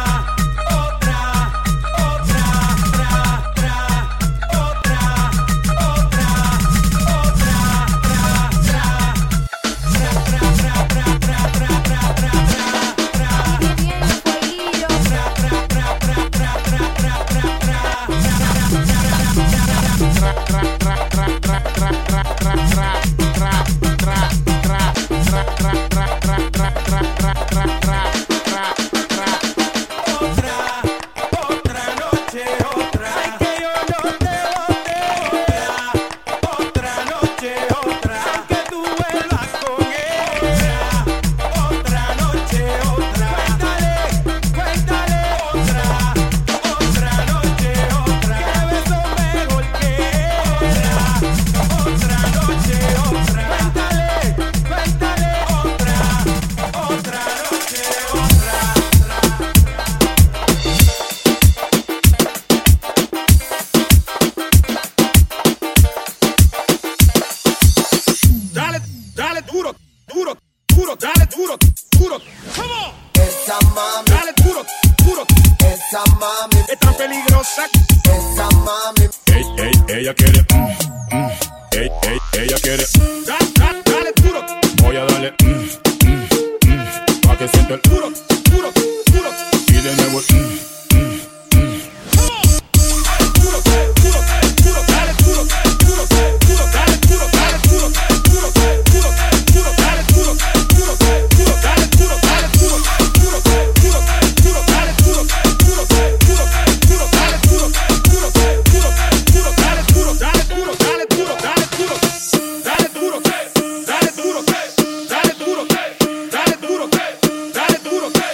Speaker 15: peligrosa.
Speaker 20: Esa mami. Ella quiere. Ella quiere.
Speaker 15: Dale duro.
Speaker 20: Voy a darle. Pa' que sienta el
Speaker 15: duro, duro, duro.
Speaker 20: Y de nuevo.
Speaker 15: Dale duro.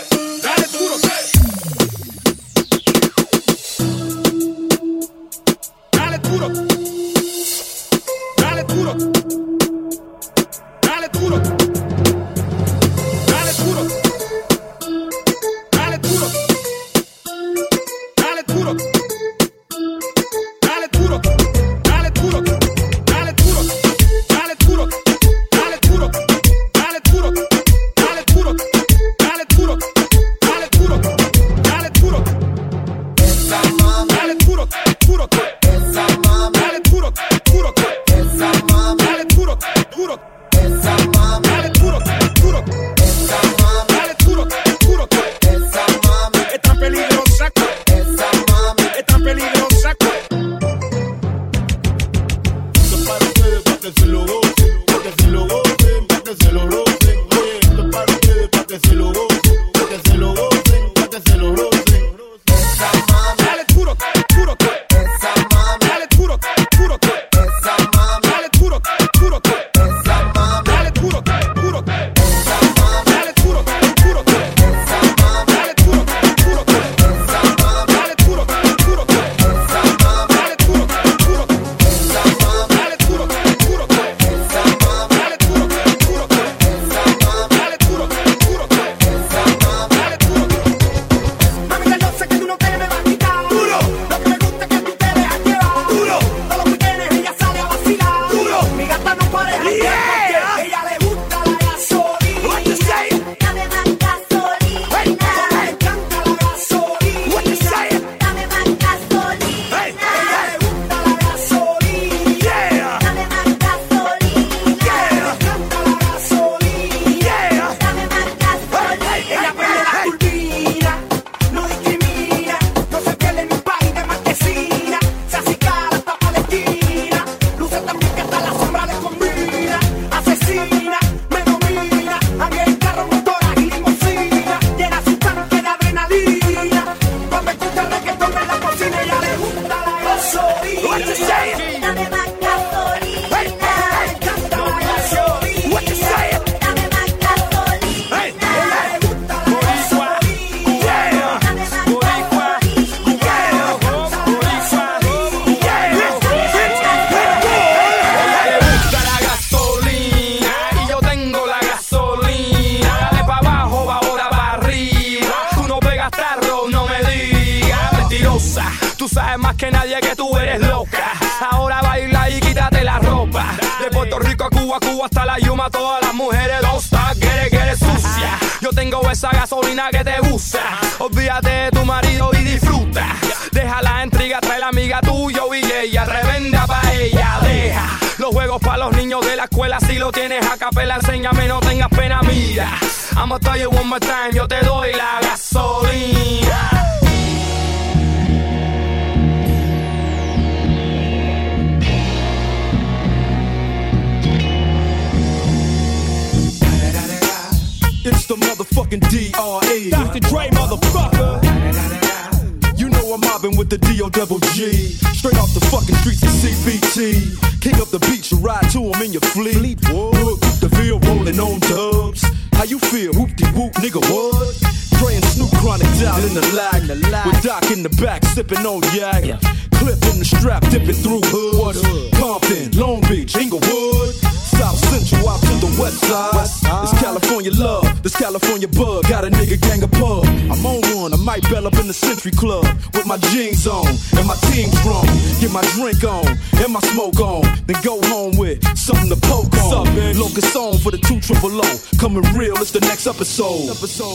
Speaker 21: sabes más que nadie que tú eres loca. Ahora baila y quítate la ropa. De Puerto Rico a Cuba, Cuba hasta la Yuma, todas las mujeres don't stop, get it sucia. Yo tengo esa gasolina que te gusta. Olvídate de tu marido y disfruta. Deja la intriga, trae la amiga tuya y ella revenda pa' ella. Deja los juegos pa' los niños de la escuela. Si lo tienes a capela, enséñame, no tengas pena. Mira, I'ma tell you one more time, yo te doy la gasolina.
Speaker 22: It's the motherfucking D.R.E. Dr. Dre, motherfucker. You know I'm mobbing with the D.O.double-G. Straight off the fucking streets of CBT. King up the beach, you ride to him in your fleet. Look, the Ville rolling on dubs. How you feel? Whoop-de-whoop, nigga, what? Dre and Snoop Chronic down in the lag. With Doc in the back, sipping on yak. Clip in the strap, dipping through hoods. Compton, Long Beach, Inglewood. South Central out to the west side. This California love, this California bug. Got a nigga gang of pub. I'm on one, I might bell up in the Century Club. With my jeans on, and my team strong. Get my drink on, and my smoke on. Then go home with something to poke on. Locust on for the 200. Coming real, it's the next episode.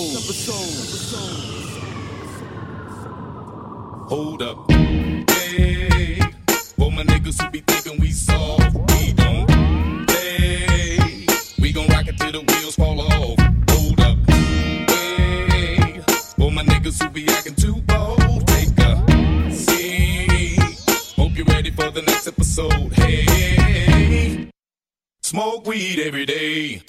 Speaker 20: Hold up. Hey, for my niggas who be thinking we soft, we don't play. We gon' rock it till the wheels fall off. Hold up. Hey, for my niggas who be acting too bold, take a seat. Hope you're ready for the next episode. Hey, smoke weed every day.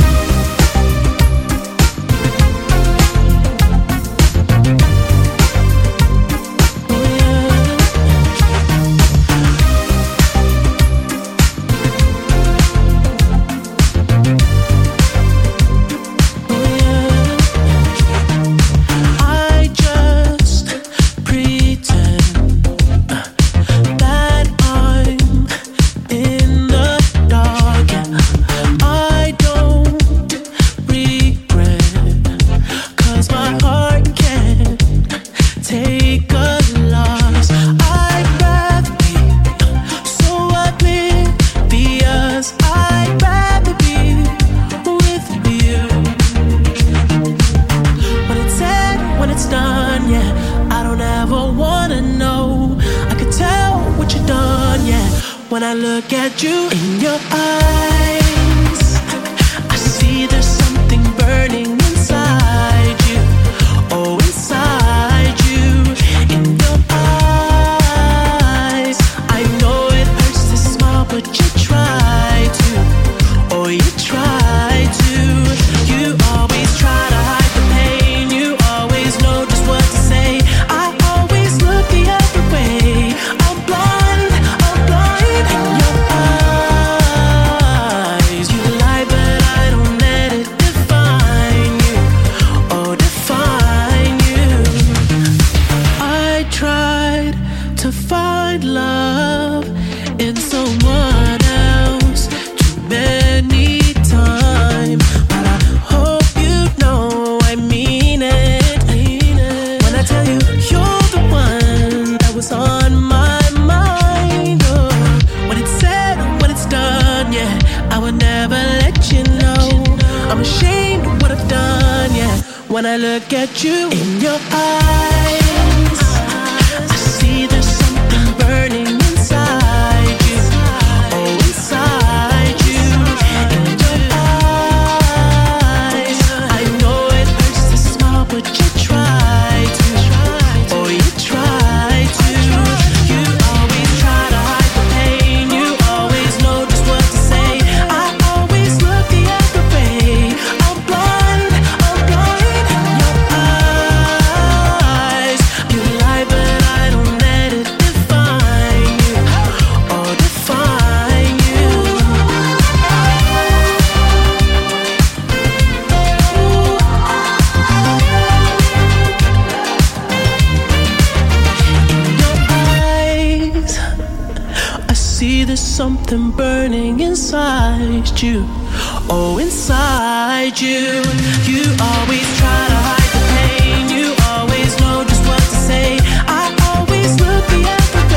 Speaker 14: When I look at you in your eyes, I see there's something burning inside you. Oh, inside you, in your eyes. I know it hurts to smile, but you try to. Oh, you try to. You always try to hide the pain. You always know just what to say. I always look the other way. I'm blind. When I look at you in your eyes, I see there's something burning inside you. Oh, inside you, in your eyes. I know it hurts to smile, but you try to. Oh, you try to. You always try to hide the pain. You always know just what to say. I always look the other way. I'm blind. Something burning inside you. Oh, inside you. You always try to hide the pain. You always know just what to say. I always look the other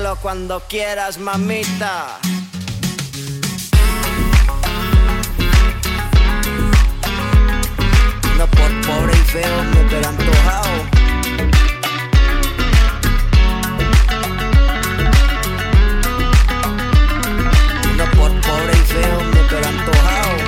Speaker 19: dártelo cuando quieras, mamita. No por pobre y feo me pero antojado. No por pobre y feo me pero antojado.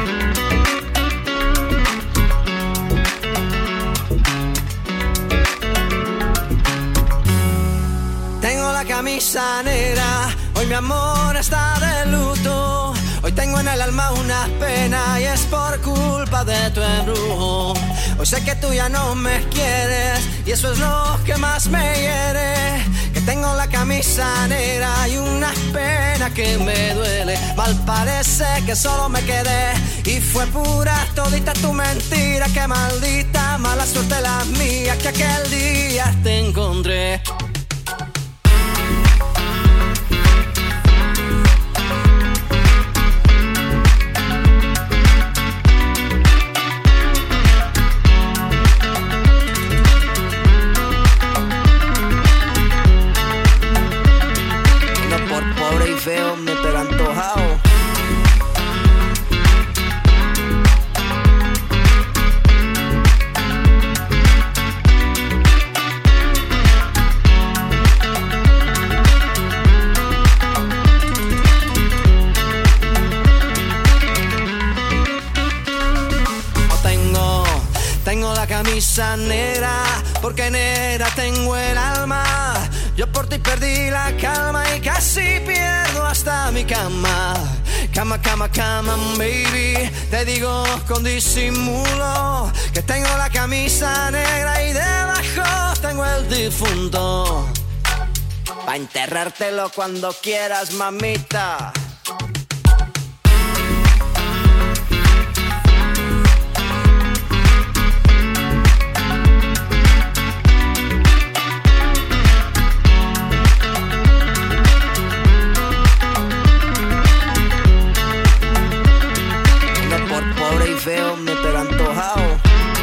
Speaker 19: Tengo la camisa negra, hoy mi amor está de luto. Hoy tengo en el alma una pena y es por culpa de tu embrujo. Hoy sé que tú ya no me quieres y eso es lo que más me hiere. Que tengo la camisa negra y una pena que me duele. Mal parece que solo me quedé y fue pura todita tu mentira. Que maldita mala suerte la mía que aquel día te encontré. Feo, me pero antojado. Tengo la camisa negra, porque negra tengo el alma. Yo por ti perdí la calma y casi pierdo hasta mi cama. Cama, cama, cama, baby. Te digo con disimulo que tengo la camisa negra y debajo tengo el difunto. Pa' enterrártelo cuando quieras, mamita. Pobre y feo, me pero antojado.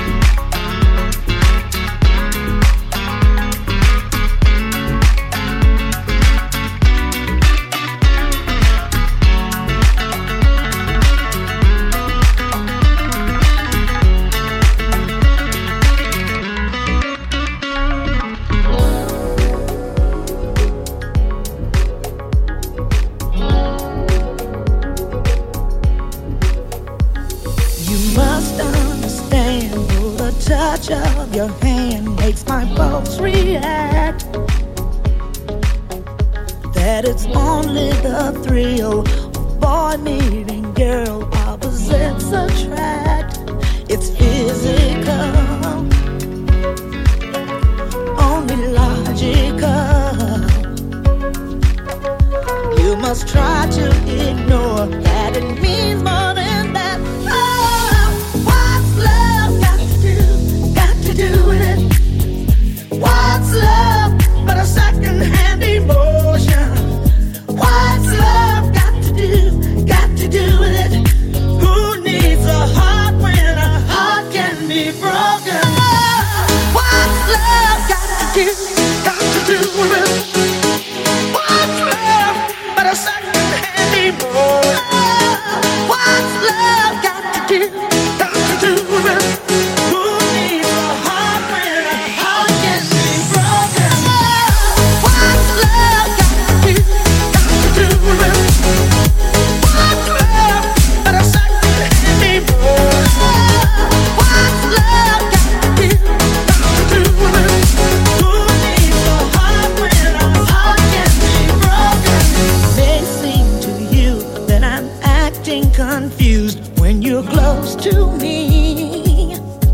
Speaker 3: Touch of your hand makes my pulse react. That it's only the thrill of boy meeting girl, opposites attract. It's physical, only logical. You must try to ignore that it means more than that. Oh, what's love got to do with it? What's love but a second-hand emotion? What's love got to do with it? Who needs a heart when a heart can be broken? What's love got to do with it? What's love but a second-hand emotion? What's love got to do with it? Confused when you're close to me.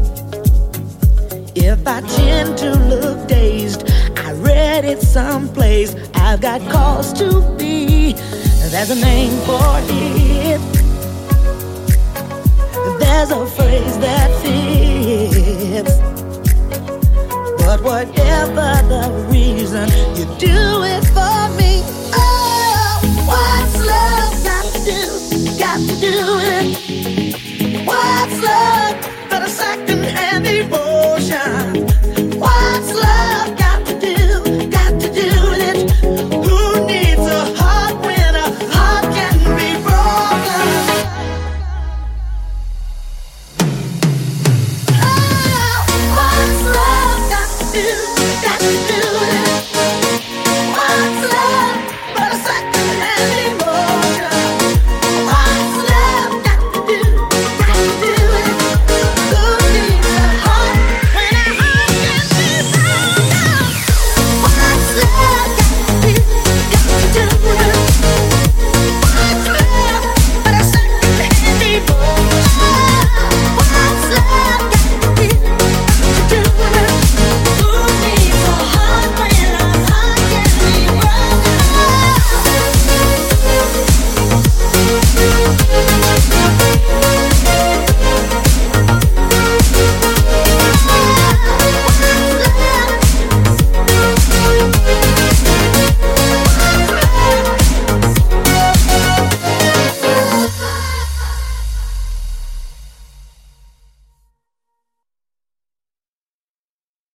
Speaker 3: If I tend to look dazed, I read it someplace. I've got cause to be. There's a name for it. There's a phrase that fits. But whatever the reason, you do it for me. Oh, what's love got to do with it? What's love